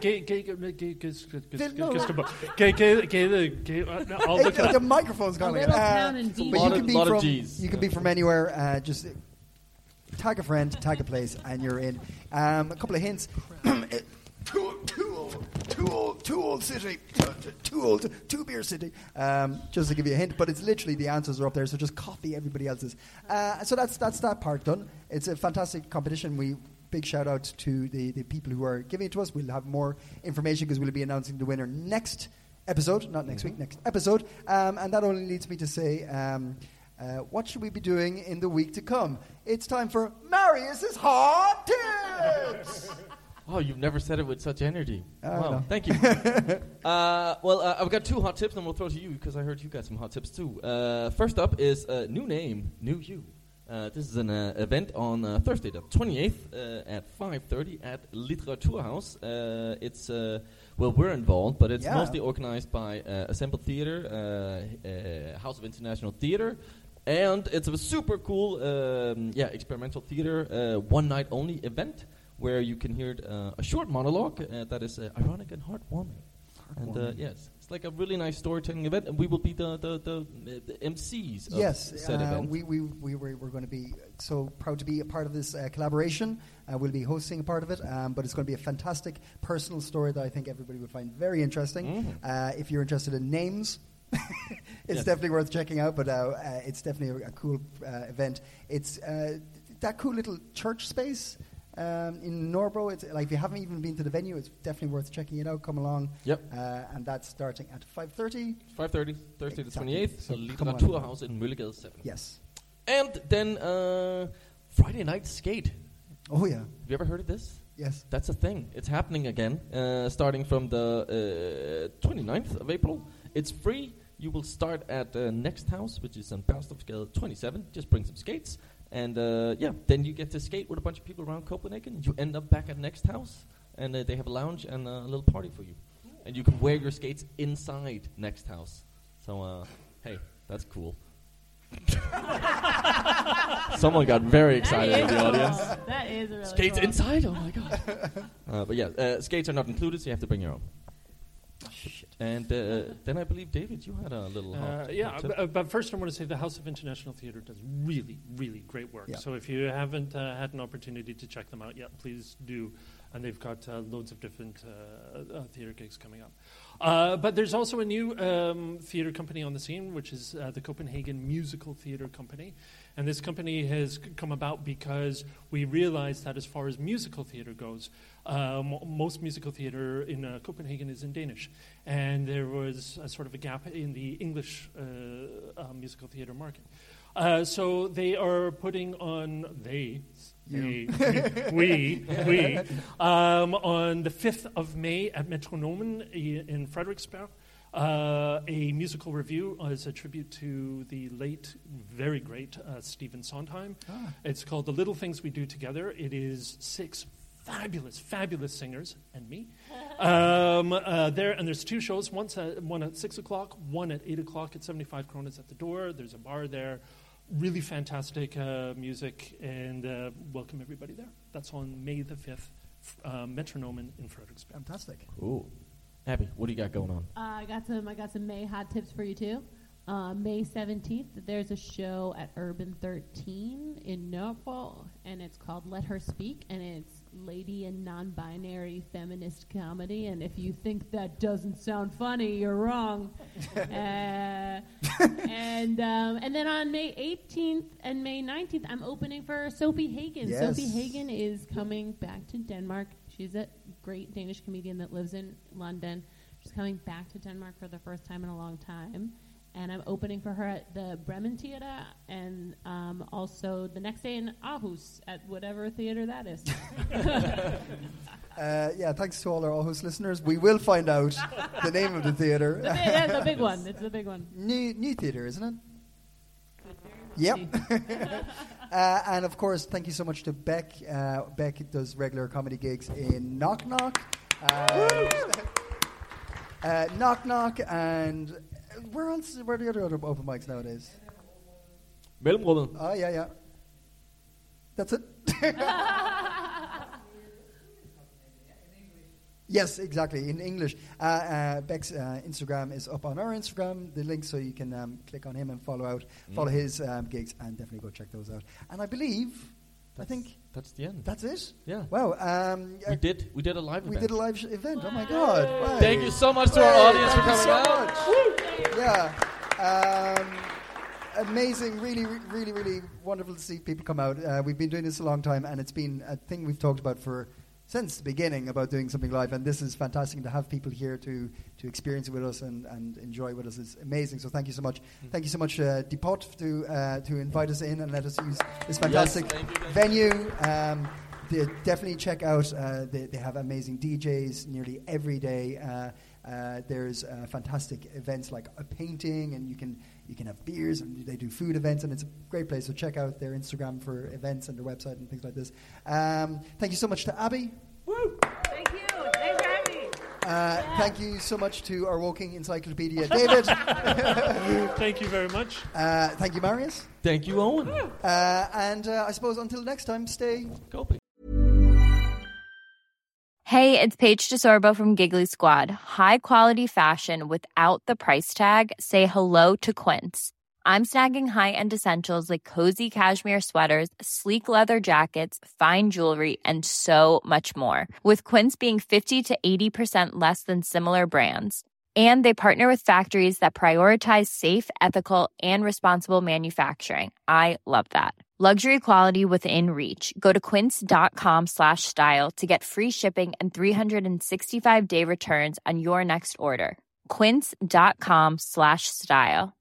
the microphone's going. But you can be from anywhere. Just tag a friend, tag a place, and you're in. A couple of hints. Too old city. Too beer city. Just to give you a hint, but it's literally the answers are up there, so just copy everybody else's. So that's that part done. It's a fantastic competition. We big shout out to the people who are giving it to us. We'll have more information because we'll be announcing the winner next episode, not next week, next episode. And that only leads me to say, what should we be doing in the week to come? It's time for Marius's Hot Tips! Oh, you've never said it with such energy. Wow, no. thank you. I've got 2 hot tips, and we'll throw to you because I heard you got some hot tips too. First up is new name, new you. This is an event on Thursday, the 28th at 5:30 at Literaturhaus. It's we're involved, but it's mostly organized by Assemble Theatre, House of International Theatre, and it's a super cool, experimental theatre, one night only event where you can hear a short monologue that is ironic and heartwarming. And yes, it's like a really nice storytelling event, and we will be the MCs of said event. We're going to be so proud to be a part of this collaboration. We'll be hosting a part of it, but it's going to be a fantastic personal story that I think everybody would find very interesting. If you're interested in names, it's definitely worth checking out, but it's definitely a cool event. It's that cool little church space in Norbro. It's like if you haven't even been to the venue, it's definitely worth checking it out. Come along. Yep. And that's starting at 5:30. 5:30, Thursday the 28th, so Literaturhaus in Møllegade 7. Yes. And then Friday night skate. Oh yeah. Have you ever heard of this? Yes. That's a thing. It's happening again, starting from the 29th of April. It's free. You will start at Next House, which is on Bernstorffsgade 27. Just bring some skates. And then you get to skate with a bunch of people around Copenhagen. You end up back at Next House, and they have a lounge and a little party for you. And you can wear your skates inside Next House. So, hey, that's cool. Someone got very excited in the audience. That is really skates cool. inside? Oh my god. But skates are not included, so you have to bring your own. Shit. And then I believe, David, you had a little hot tip. But first I want to say the House of International Theatre does really, really great work. Yeah. So if you haven't had an opportunity to check them out yet, please do. And they've got loads of different theatre gigs coming up. But there's also a new theatre company on the scene, which is the Copenhagen Musical Theatre Company. And this company has come about because we realized that as far as musical theatre goes, most musical theatre in Copenhagen is in Danish. And there was a sort of a gap in the English musical theatre market. So they are putting on, on the 5th of May at Metronomen in Frederiksberg, a musical review as a tribute to the late, very great Stephen Sondheim. It's called The Little Things We Do Together. It is 6 fabulous singers and me. There's 2 shows, one at 6 o'clock, one at 8 o'clock at 75 kronas at the door. There's a bar there. Really fantastic music, and welcome everybody there. That's on May the 5th, Metronomen in Frederiksberg. Fantastic. Cool. Abby, what do you got going on? I got some May hot tips for you too. May 17th, there's a show at Urban 13 in Norfolk, and it's called Let Her Speak, and it's lady and non-binary feminist comedy. And if you think that doesn't sound funny, you're wrong. And then on May 18th and May 19th, I'm opening for Sophie Hagen. Yes. Sophie Hagen is coming back to Denmark. She's a great Danish comedian that lives in London. She's coming back to Denmark for the first time in a long time. And I'm opening for her at the Bremen Theater, and also the next day in Aarhus at whatever theater that is. Thanks to all our Aarhus listeners. We will find out the name of the theater. The big one. It's the big one. New theater, isn't it? Yep. And of course, thank you so much to Beck. Beck does regular comedy gigs in Knock Knock. Knock Knock, and where else? Where are the other open mics nowadays? Mellemrummet. Oh, yeah. That's it. Yes, exactly, in English. Beck's Instagram is up on our Instagram, the link, so you can click on him and follow his gigs, and definitely go check those out. And I believe, that's the end. That's it? Yeah. Wow. We did a live event. We did a live event. Oh my God. Wow. Thank you so much to our audience for coming out. Yeah. amazing, really, really, really wonderful to see people come out. We've been doing this a long time, and it's been a thing we've talked about since the beginning about doing something live, and this is fantastic to have people here to experience it with us and enjoy with us. It's amazing. So thank you so much. Thank you so much, Depot, to invite us in and let us use this fantastic venue. They definitely check out. They have amazing DJs nearly every day. There's fantastic events like a painting, and you can have beers, and they do food events, and it's a great place. So check out their Instagram for events and their website and things like this. Thank you so much to Abby. Woo! Thank you. Thanks for having me. Thank you so much to our walking encyclopedia, David. Thank you very much. Thank you, Marius. Thank you, Owen. And I suppose until next time, stay coping. Hey, it's Paige DeSorbo from Giggly Squad. High quality fashion without the price tag. Say hello to Quince. I'm snagging high-end essentials like cozy cashmere sweaters, sleek leather jackets, fine jewelry, and so much more. With Quince being 50 to 80% less than similar brands. And they partner with factories that prioritize safe, ethical, and responsible manufacturing. I love that. Luxury quality within reach. Go to quince.com/style to get free shipping and 365-day returns on your next order. Quince.com/style.